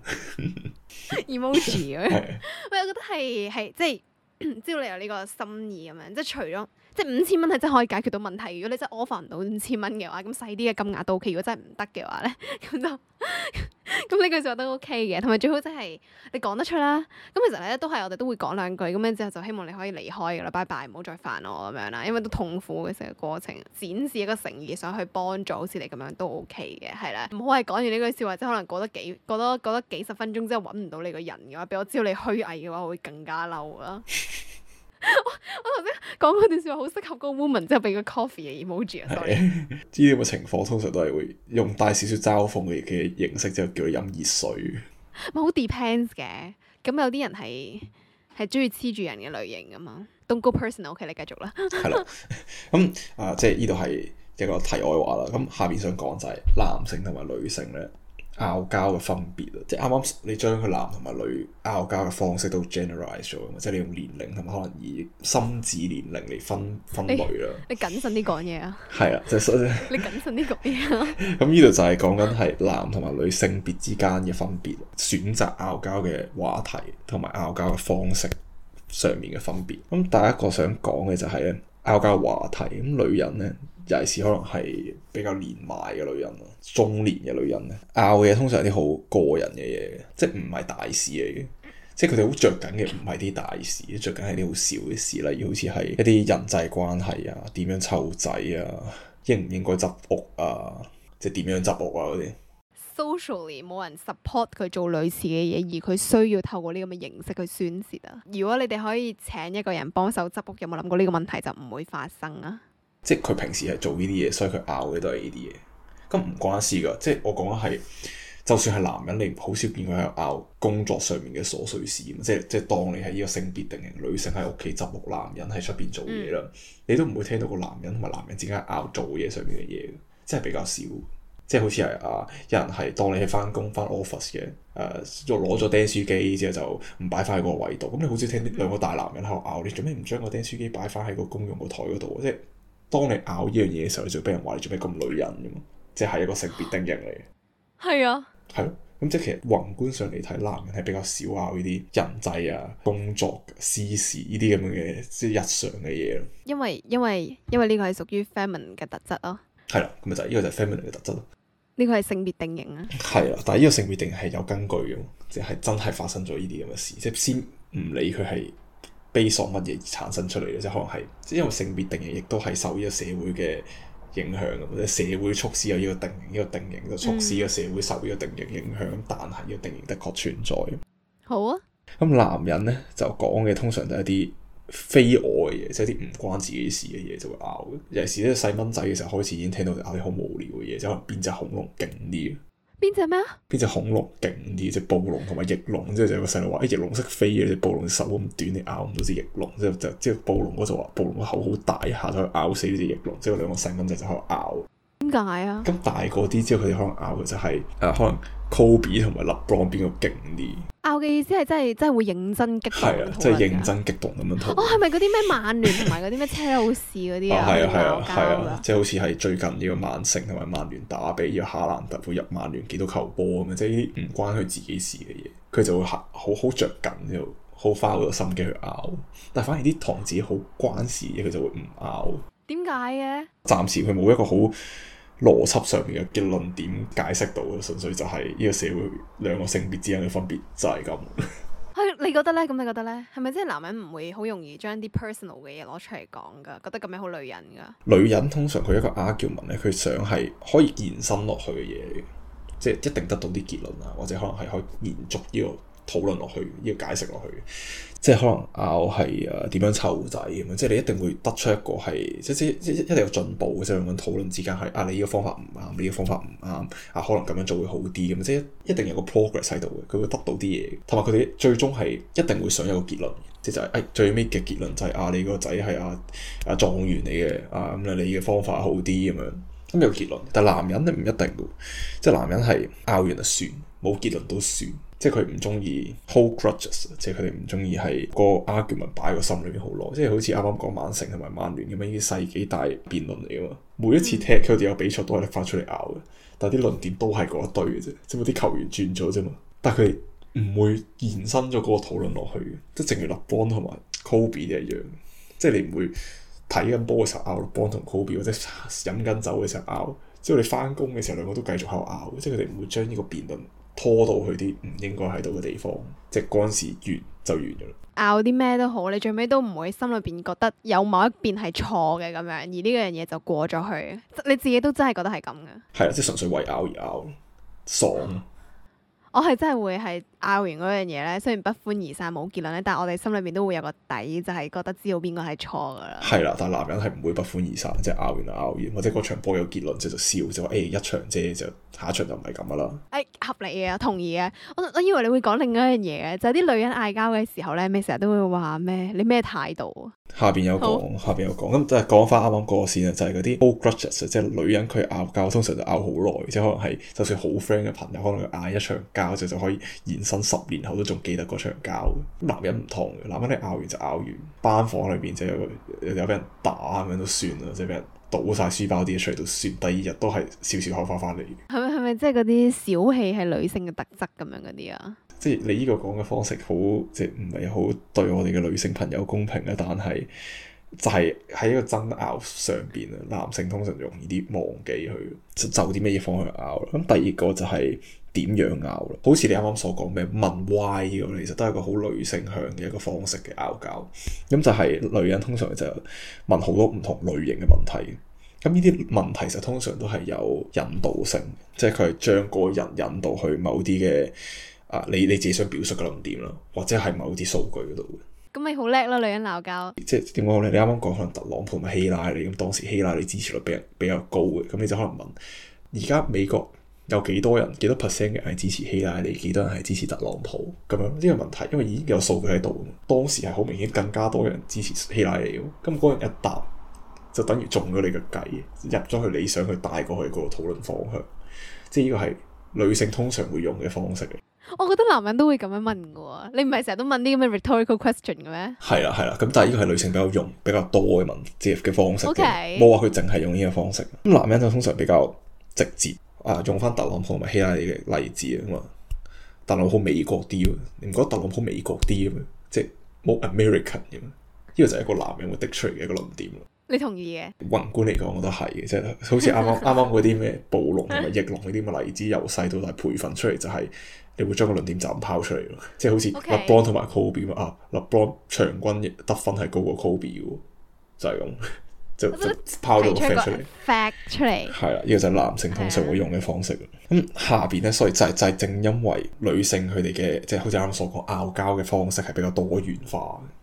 emoji 咁樣。喂，我覺得係係即係知道你有呢個心意咁樣，即係除咗即係五千蚊係真係可以解決到問題。如果你真係 offer 唔到五千蚊嘅話，咁細啲嘅金額都 OK。如果真係唔得嘅話咧，咁就咁呢句說話都 OK 嘅。同埋最好真係你講得出啦。咁其實咧都係我哋都會講兩句，咁樣之後就希望你可以離開噶啦，拜拜，唔好再煩我咁樣啦。因為都痛苦嘅成個過程，展示一個誠意想去幫助，好似你咁樣都 OK 嘅，係啦。唔好係講完呢句笑話，即係可能過得幾過多過得幾十分鐘之後揾唔到你個人嘅話，俾我知道你虛偽嘅話，我會更加嬲啦。我我頭先講嗰段說話好適合嗰個 woman， 之後俾個 coffee 嘅 emoji 啊。sorry，呢
啲咁嘅情況通常都係會用帶少少嘲諷嘅嘅形式，之後叫佢飲熱水。
咪好 depends 嘅，咁有啲人係係中意黐住人嘅類型噶嘛。Don't go personal，OK， 你繼續啦。係啦，
咁啊、呃，即係呢度係一個題外話啦。咁下邊想講就係男性同埋女性咧拗交嘅分別啊，即係啱啱你將佢男同埋女拗交嘅方式都 generalize 咗，即係你用年齡同埋可能以心智年齡嚟分分類啦。
你謹慎啲講嘢啊！
係啊，即係
你謹慎啲講嘢啊！
咁呢度就係講緊係男同埋女性別之間嘅分別，選擇拗交嘅話題同埋拗交嘅方式上面嘅分別。咁第一個想講嘅就係咧拗交話題，咁女人咧。尤其是可能係比較年邁嘅女人咯，中年嘅女人咧，拗嘅嘢通常係啲好個人嘅嘢，即係唔係大事嚟嘅，即係佢哋好着緊嘅唔係啲大事，着緊係啲好小嘅事，例如好似係一啲人際關係啊，點樣湊仔啊，應唔應該執屋啊，即係點樣執屋啊嗰啲。
Socially 冇人 support 佢做類似嘅嘢，而佢需要透過呢咁嘅形式去宣泄啊。如果你哋可以請一個人幫手執屋，有冇諗過呢個問題就唔會發生啊？
即係佢平時係做呢啲嘢，所以佢拗嘅都係呢啲嘢，咁唔關事噶。即係我講嘅係，就算係男人，你好少見佢喺度拗工作上面嘅瑣碎事。即係即係當你係呢個性別定型，女性喺屋企執屋，男人喺出邊做嘢啦，嗯、你都唔會聽到個男人同埋男人之間拗做嘢上面嘅嘢，即係比較少。即係好似係啊，有人係當你係翻工翻 office 嘅，誒、呃，攞咗釘書機之後就唔擺翻喺個位度。咁你好少聽兩個大男人喺度拗，你做咩唔將個釘書機擺翻喺個公用個台嗰度？即係。當你拗呢樣嘢嘅時候，你就俾人話你做咩咁女人嘅嘛？即係一個性別定型嚟嘅。係啊，係咯。咁即係其實宏觀上嚟睇，男人係比較少拗呢啲人際啊、工作、私事呢啲咁樣嘅即係日常嘅嘢咯。因為因為因為呢個係屬於 feminine 嘅特質咯。係啦，咁咪就係呢個就係 feminine 嘅特質咯。呢個係性別定型啊。係啦，但係呢個性別定型係有根據嘅，即係真係發生咗呢啲咁嘅事，即係先唔理佢係。悲喪乜嘢而產生出嚟嘅，即係可能係，即係因為性別定型亦都係受呢個社會嘅影響嘅，或者社會促使有呢個定型，呢、呢個定型就促使呢個社會受呢個定型影響，嗯、但係呢個定型的確存在。好啊。咁男人咧就講嘅通常都係一啲非我嘅嘢，即係啲唔關自己事嘅嘢就會拗。尤其是咧細蚊仔嘅時候開始已經聽到拗啲好無聊嘅嘢，即係可能邊隻恐龍勁啲。
邊隻咩啊？
邊隻恐龍勁啲？隻暴龍同埋翼龍，之後就有個細路話：誒翼龍識飛嘅，隻暴龍手咁短，你咬唔到隻翼龍。之後就即係暴龍嗰就話：暴龍個口好大，一下就可以咬死呢隻翼龍。之後兩個細蚊仔就喺度拗。
點解啊？
咁大個啲之後，佢哋可能拗嘅就係、是、誒、呃，可能 Kobe 同埋 LeBron 邊個勁啲？拗
嘅意思係真係真係會認真激動，
係啊，即係認真激動咁樣討論。
哦，係咪嗰啲咩曼聯同埋嗰啲咩車路士嗰啲啊？
係啊係啊係啊，即係好似係最近呢個曼城同埋曼聯打比，要哈蘭特會入曼聯幾多球波咁樣，即係呢啲唔關佢自己事嘅嘢，佢就會好好着緊，就好花好多心機去拗。但係反而啲同自己好關事嘅嘢，佢就會唔拗。點解嘅？暫時佢冇一個好邏輯上面嘅論點解釋到，純粹就係呢個社會兩個性別之間嘅分別就係咁。你覺得咧？咁你覺得咧？係咪即係男人唔會好容易將啲 personal 嘅嘢攞出嚟講噶？覺得咁樣好女人噶？女人通常佢一個 argument 咧，佢想係可以延伸落去嘅嘢，即係一定得到啲結論啊，或者可能係可以延續呢個討論落去，呢個解釋落去。即係可能拗係誒點樣湊仔咁樣，即係你一定會得出一個係即即即一定有進步嘅，即係咁樣討論之間係啊，你呢個方法唔啱，你呢個方法唔啱啊，可能咁樣做會好啲咁，即係一定有個 progress 喺度嘅，佢會得到啲嘢，同埋佢哋最終係一定會想有個結論，即係就係、是、誒、哎、最尾嘅結論就係、是、啊，你個仔係啊啊狀元嚟嘅啊，咁你嘅方法好啲咁樣，咁有結論。但係男人咧唔一定嘅，即係男人係拗完就算，冇結論都算。即係佢唔中意 hold grudges，即係佢哋唔中意係個 argument 擺喺個心裏面好耐，即係好似啱啱講曼城同埋曼聯咁樣呢啲世紀大辯論嚟噶嘛。每一次踢佢哋有比賽都係拎翻出嚟拗嘅，但係啲論點都係嗰一堆嘅啫，只不過啲球員轉咗啫嘛。但係佢哋唔會延伸咗嗰個討論落去嘅，即係正如 LeBron 同埋 Kobe 一樣，即係你唔會睇緊波嘅時候拗 LeBron 同 Kobe，或者飲緊酒嘅時候拗，之後你翻工嘅時候兩個都繼續喺度拗，即係佢哋唔會將呢個辯論拖到去啲唔應該喺度嘅地方，即係嗰陣時完就完咗啦。拗啲咩都好，你最尾都唔會心裏邊覺得有某一邊係錯嘅咁樣，而呢樣嘢就過咗去，你自己都真係覺得係咁嘅。係啊，即係純粹為拗而拗，爽。我係真係會係拗完嗰樣嘢咧，雖然不歡而散冇結論咧，但係我哋心裏邊都會有個底，就係、是、覺得知道邊個係錯噶啦。係啦，但係男人係唔會不歡而散，即係拗完就拗完，或者嗰場波有結論，即係就笑，就話誒、欸、一場啫，就下一場就唔係咁噶啦。誒、欸、合理嘅，同意嘅。我我以為你會講另一樣嘢嘅，就係、是、啲女人嗌交嘅時候咧，咩成日都會話咩？你咩態度啊？下邊有講，下邊有講，咁就係講翻啱啱嗰個先啊，就係嗰啲 old grudges，即係女人佢拗交通常就拗好耐，即係可能係就算好 friend 嘅朋友，可能嗌一場交就就可以延伸十年後都仲記得嗰場交。男人唔同嘅，男人你拗完就拗完，班房裏邊就有有有俾人打咁樣都算啦，即係俾人倒晒書包啲嘢出嚟都算，第二日都係笑笑口翻翻嚟。係咪係咪即係嗰啲小氣係女性嘅特質咁樣嗰啲啊？即係你呢個講嘅方式好，即係唔係好對我哋嘅女性朋友公平咧？但係就係喺一個爭拗上邊啊，男性通常容易啲忘記佢就啲咩嘢方向拗啦。咁第二個就係點樣拗啦？好似你啱啱所講咩問 why 呢個，其實都係一個好女性向嘅一個方式嘅拗交。咁就係女人通常就問好多唔同類型嘅問題。咁呢啲問題就通常都係有引導性，即係佢係將個人引導去某啲嘅。啊！你你自己想表述嘅論點啦，或者係某啲數據嗰度嘅。咁你好叻啦，女人鬧交。即係點講咧？你啱啱講可能特朗普同埋希拉里咁，當時希拉里支持率比比較高嘅，咁你就可能問：而家美國有幾多人？幾多 percent 嘅係支持希拉里？幾多人係支持特朗普？咁樣呢個問題，因為已經有數據喺度。當時係好明顯更加多人支持希拉里，咁嗰人一答就等於中咗你嘅計，入咗去你想去帶過去嗰個討論方向。即係呢個係女性通常會用嘅方式嘅。我覺得男人都會咁樣問嘅喎，你唔係成日都問啲咁嘅 rhetorical question 嘅咩？係啦係啦，咁但係呢個係女性比較用比較多嘅問即係嘅方式嘅，冇話佢淨係用呢個方式。咁男人就通常比較直接啊，用翻特朗普同埋希拉里嘅例子啊嘛。特朗普美國啲喎，你唔覺得特朗普美國啲嘅咩？即係冇 American 嘅咩？呢個就係一個男人會滴出嚟嘅一個論點。你同意嘅？宏觀嚟講，我覺得係嘅，即係好似啱啱啱啱嗰啲咩暴龍同埋翼龍嗰啲咁嘅例子，由細到大培訓出嚟就係、是。你會將個論點就咁拋出嚟咯，即係好似 LeBron 同埋 Kobe 啊 ，LeBron 場均得分係高過 Kobe 嘅，就係、是、咁，就就拋到個 fact 出嚟。fact 出嚟係啦，呢、這個就係男性通常會用嘅方式。咁、嗯、下邊咧，所以就係、是、就係、是、正因為女性佢哋嘅即係好似啱啱所講拗交嘅方式係比較多元化，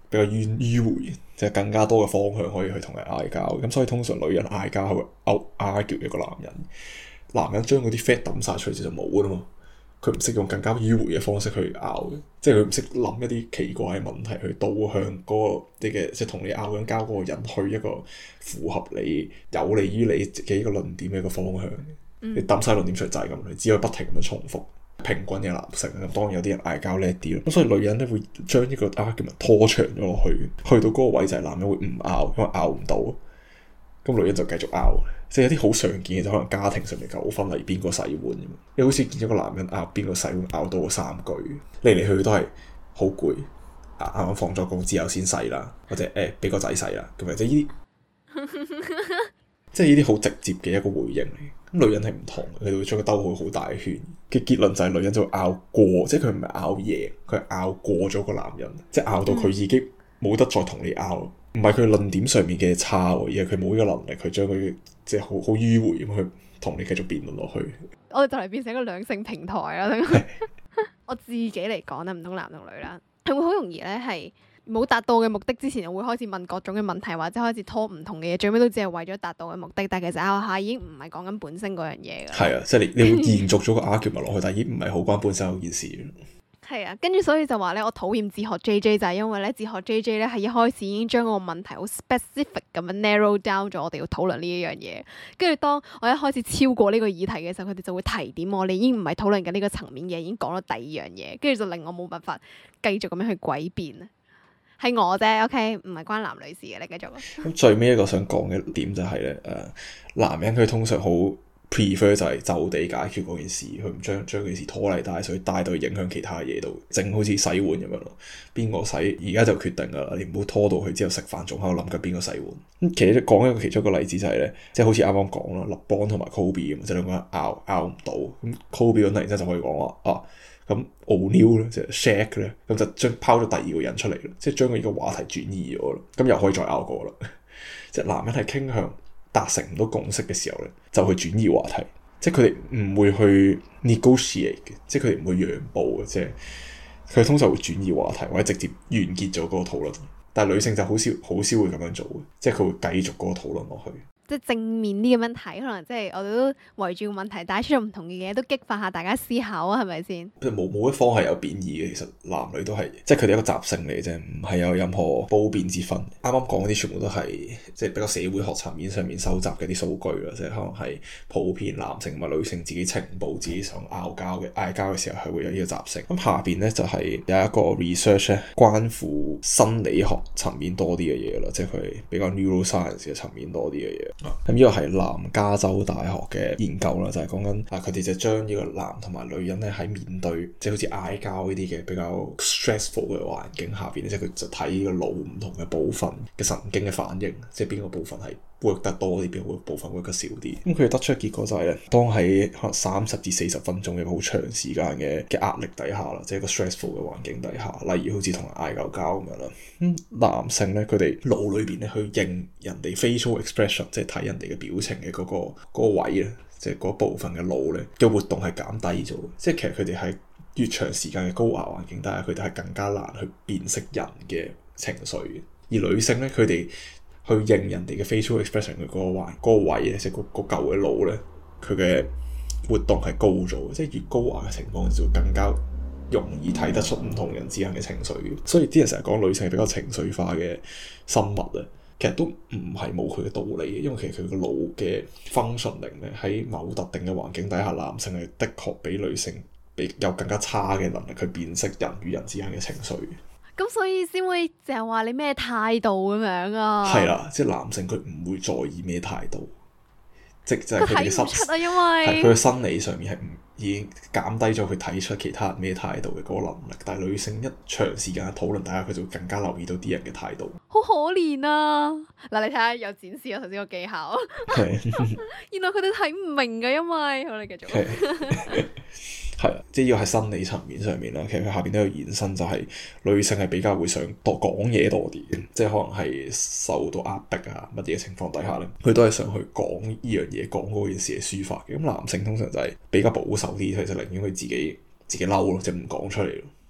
比較迂迂迴，即係更加多嘅方向可以去同人嗌交。咁所以通常女人嗌交係會 out argue 一個男人，男人將嗰啲 fat 抌晒出嚟就冇啦嘛。佢唔識用更加迂迴嘅方式去拗嘅，即係佢唔識諗一啲奇怪嘅問題去導向嗰、嗰個你嘅即係同你拗緊交嗰個人去一個符合你有利於你嘅一個論點嘅一個方向。嗯、你抌晒論點出嚟就係咁，你只可以不停咁樣重複。平均嘅男性咁，當然有啲人嗌交叻啲咯。咁所以女人咧會將呢個 argument 拖長咗落去，去到嗰個位就係男人會唔拗，因為拗唔到，咁女人就繼續拗。即係有啲好常見嘅，就可能家庭上面糾紛，例如邊個洗碗咁。你好似見咗個男人拗邊個洗碗，拗到三句，嚟嚟去去都係好攰，啱啱放咗工之後先洗啦，或者誒俾、欸、個仔洗啦，咁樣即係呢啲，即係呢啲好直接嘅一個回應嚟。咁女人係唔同，佢哋會將佢兜好好大圈嘅結論就係女人就會拗過，即係佢唔係拗贏，佢係拗過咗個男人，即係拗到佢已經冇得再同你拗。唔係佢論點上面嘅差，而係佢冇呢個能力去將佢即係好好迂迴咁去同你繼續辯論落去。
我哋就嚟變成一個兩性平台啦。是我自己嚟講咧，唔通男同女啦，係會好容易咧，係冇達到嘅目的之前，我會開始問各種嘅問題，或者開始拖唔同嘅嘢，最尾都只係為咗達到嘅目的。但係其實拗下已經唔係講緊本身嗰樣嘢㗎。係
啊，即係你你會延續咗個 argument 落去，但係已經唔係好關本身嗰件事。
係啊，跟住所以就話咧，我討厭哲學 J J 就係因為咧，哲學 J J 咧係一開始已經將個問題好 specific 咁樣 narrow down 咗，我哋要討論呢一樣嘢。跟住當我一開始超過呢個議題嘅時候，佢哋就會提點我，你已經唔係討論緊呢個層面嘅，已經講咗第二樣嘢，跟住就令我冇辦法繼續咁樣去詭辯。係我啫 ，OK，唔係關男女事嘅，你繼續。
咁最尾一個想講嘅點就係、是、咧，誒、呃，男人佢通常好 prefer 就係就地解決嗰件事，佢唔將將件事拖泥帶水，帶到去影響其他嘢度，正好似洗碗咁樣咯。邊個洗而家就決定噶啦，你唔好拖到去之後食飯仲喺度諗緊邊個洗碗。咁其實講一個其中一個例子就係、是、咧，即係好似啱啱講啦，勒邦同埋 Kobe 咁，即係兩個人拗拗唔到，咁 Kobe 突然之間就可以講話啊，咁 O'Neal 咧即係 Shaq 咧，咁就將拋咗第二個人出嚟咯，即係將佢呢個話題轉移咗咯，咁又可以再拗過啦。即係男人係傾向達成唔到共識嘅時候咧，就去轉移話題，即係佢哋唔會去 negotiate 嘅，即係佢哋唔會讓步嘅，即係佢通常會轉移話題或者直接完結咗嗰個討論。但係女性就好少好少會咁樣做嘅，即係佢會繼續嗰個討論落去。
即係正面啲咁樣睇，可能即係我哋都圍住個問題帶出咗唔同嘅嘢，都激發下大家思考啊，係咪先？冇
冇一方係有貶義嘅，其實男女都係，即係佢哋一個習性嚟嘅啫，唔係有任何褒貶之分。啱啱講嗰啲全部都係即係比較社會學層面上面收集嘅啲數據啦，即係可能係普遍男性同埋女性自己情報、自己想拗交嘅嗌交嘅時候係會有呢個習性。咁下邊咧就係、是、有一個 research 咧，關乎心理學層面多啲嘅嘢啦，即係佢比較 neuroscience 嘅層面多啲嘅嘢。咁呢個係南加州大學嘅研究啦，就係講緊啊，佢哋就將呢個男同埋女人咧喺面對即係好似嗌交呢啲嘅比較 stressful 嘅環境下邊，即係佢就睇呢個腦唔同嘅部分嘅神經嘅反應，即係邊個部分係 work 得多啲，邊個部分 work 得少啲。咁佢得出嘅結果就係咧，當喺可能三十至四十分鐘嘅好長時間嘅嘅壓力底下啦，即係一個 stressful 嘅環境底下，例如好似同人嗌交交咁樣啦。咁男性咧，佢哋腦裏邊咧去認人哋 facial expression，即係睇人哋嘅表情嘅嗰個嗰個位咧，即係嗰部分嘅腦咧嘅活動係減低咗。即係其實佢哋喺越長時間嘅高壓環境底下，佢哋係更加難去辨識人嘅情緒。而女性咧，佢哋去認人哋嘅 facial expression 嘅嗰個位嗰個位咧，即係嗰嗰舊嘅腦咧，佢嘅活動係高咗。即係越高壓嘅情況就會更加容易睇得出唔同人之間嘅情緒。所以啲人成日講女性係比較情緒化嘅生物啊，其實都唔係冇佢嘅道理嘅，因為其實佢個腦嘅 functioning 咧喺某特定嘅環境底下，男性係的確比女性比有更加差嘅能力去辨識人與人之間嘅情緒。
咁所以先會就係話你咩態度咁樣啊？
係啦，即係男性佢唔會在意咩態度，即係佢睇唔出啊，因為係佢嘅生理上面係唔已經減低咗佢睇出其他人咩態度嘅嗰個能力。但係女性一長時間嘅討論底下，佢就會更加留意到啲人嘅態度。好
可憐啊！嗱，你睇下有展示我頭先個技巧，原來佢哋睇唔明嘅，因為好，你繼續。
係啊，即係要喺生理層面上面啦。其實佢下邊都有延伸，就係女性係比較會想多講嘢多啲嘅，即係可能係受到壓迫啊乜嘢情況底下咧，佢都係想去講呢樣嘢，講嗰件事嘅抒發嘅。咁男性通常就係比較保守啲，其實寧願佢自己自己嬲咯，即係唔講出嚟咯。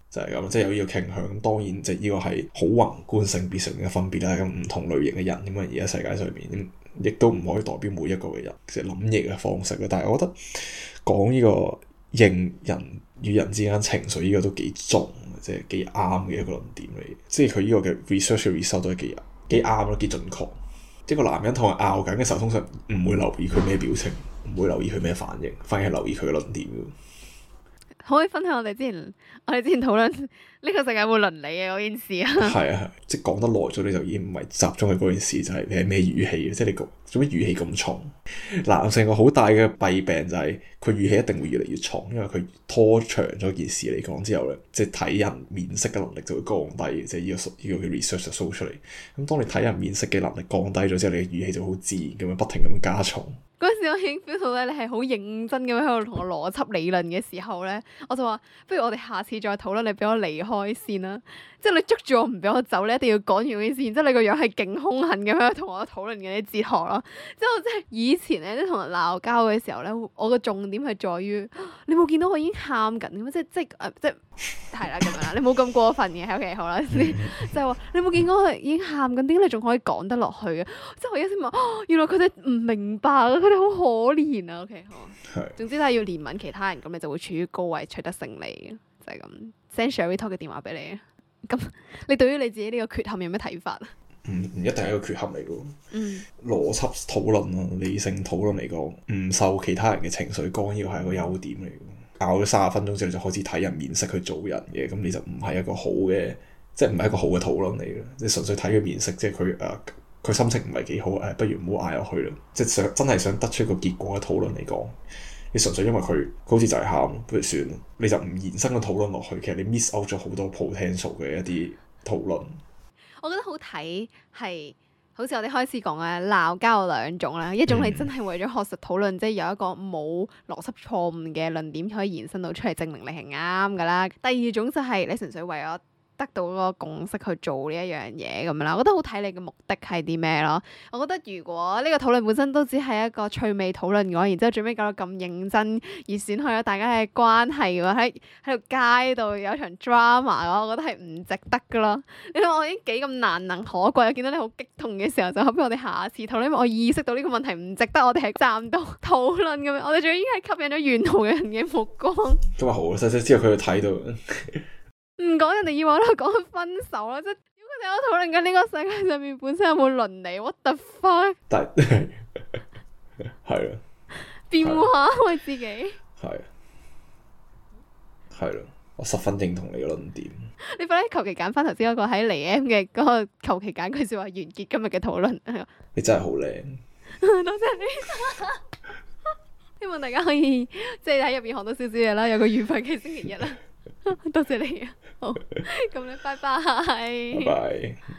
就係咁，即係有呢個傾向。當然，即係呢個係好宏觀性別上面嘅分別啦。咁唔同類型嘅人咁啊，而家世界上面亦都唔可以代表每一個嘅人即係諗嘢嘅方式啦。但係我覺得講呢個認人與人之間情緒呢個都幾重，即係幾啱嘅一個論點嚟。即係佢呢個嘅 research result 都係幾幾啱咯，幾準確。一個男人同佢拗緊嘅時候，通常唔會留意佢咩表情，唔會留意佢咩反應，反而係留意佢嘅論點。
可唔可以分享我哋之前我哋之前討論呢個世界有冇倫理嘅嗰件事啊？係
啊，即係講得耐咗，你就已經唔係集中喺嗰件事，就係、是、你係咩語氣，即係你做咩語氣咁重？男性個好大嘅弊病就係佢語氣一定會越嚟越重，因為佢拖長咗件事嚟講之後咧，即係睇人面色嘅能力就會降低，即係呢個呢個嘅 research 就 show 出嚟。咁當你睇人面色嘅能力降低咗之後，你嘅語氣就好自然咁樣不停咁樣加重。
嗰陣時我已經 feel 到咧，你係好認真咁樣喺度同我邏輯理論嘅時候咧，我就話不如我哋下次再討論，你俾我離開先啦。即係你捉住我唔俾我走，你一定要講完嗰件事。然之後你個樣係勁兇狠咁樣同我討論緊啲哲學咯。之後即係以前咧，即係同人鬧交嘅時候咧，我個重點係在於你冇見到我已經喊緊咁，即係即係誒即係係啦咁樣啦。你冇咁過分嘅，OK 好啦，先就係話你冇見到我已經喊緊，點解你仲可以講得落去嘅？即係我一先問，原來佢哋唔明白啊，佢哋好可憐啊。OK 好，總之都係要憐憫其他人，咁你就會處於高位取得勝利嘅，就係咁。send Sherry Talk 嘅電話俾你。咁你對於你自己呢個缺陷有咩睇法啊？
唔唔一定係一個缺陷嚟嘅。
嗯，
邏輯討論啊，理性討論嚟講，唔受其他人嘅情緒干擾係一個優點嚟嘅。拗咗三十分鐘之後就開始睇人面色去做人嘅，咁你就唔係一個好嘅，即係唔係一個好嘅討論嚟嘅。即係純粹睇佢面色，即係佢誒佢心情唔係幾好，誒不如唔好嗌落去啦。即係想真係想得出一個結果嘅討論嚟講。你純粹因為佢好似就係喊，不如算，你就唔延伸個討論落去。其實你 miss out 咗好多 potential 嘅一啲討論。
我覺得好睇係，好似我哋開始講嘅鬧交有兩種啦，一種係真係為咗學術討論，嗯、即係有一個冇邏輯錯誤嘅論點可以延伸到出嚟，證明你係啱噶啦。第二種就係你純粹為咗得到嗰個共識去做呢一樣嘢咁樣啦，我覺得好睇你嘅目的係啲咩咯。我覺得如果呢個討論本身都只係一個趣味討論嘅話，然之後最尾搞到咁認真而損害咗大家嘅關係嘅話，喺喺條街度有場 drama 嘅話，我覺得係唔值得噶咯。你諗我已經幾咁難能可貴，我見到你好激動嘅時候，就後邊我哋下次討論，因為我意識到呢個問題唔值得我哋喺站度討論咁樣，我哋仲已經係吸引咗沿途嘅人嘅目光。
咁啊好啊，細細之後佢就睇到。
唔講人哋以為我喺度講分手啦，即係如果佢哋喺度討論緊呢個世界上面本身有冇倫理 ，what the fuck？但係係啦，辯護下我自己。
係係啦，我十分認同你嘅論點。
你快啲求其揀翻頭先嗰個喺嚟 M 嘅嗰個，求其揀句說話完結今日嘅討論。
你真係好靚，
多謝你。希望大家可以即係喺入邊學到少少嘢啦，有個愉快嘅星期日啦。多謝你啊，好，咁咧，拜拜。拜拜。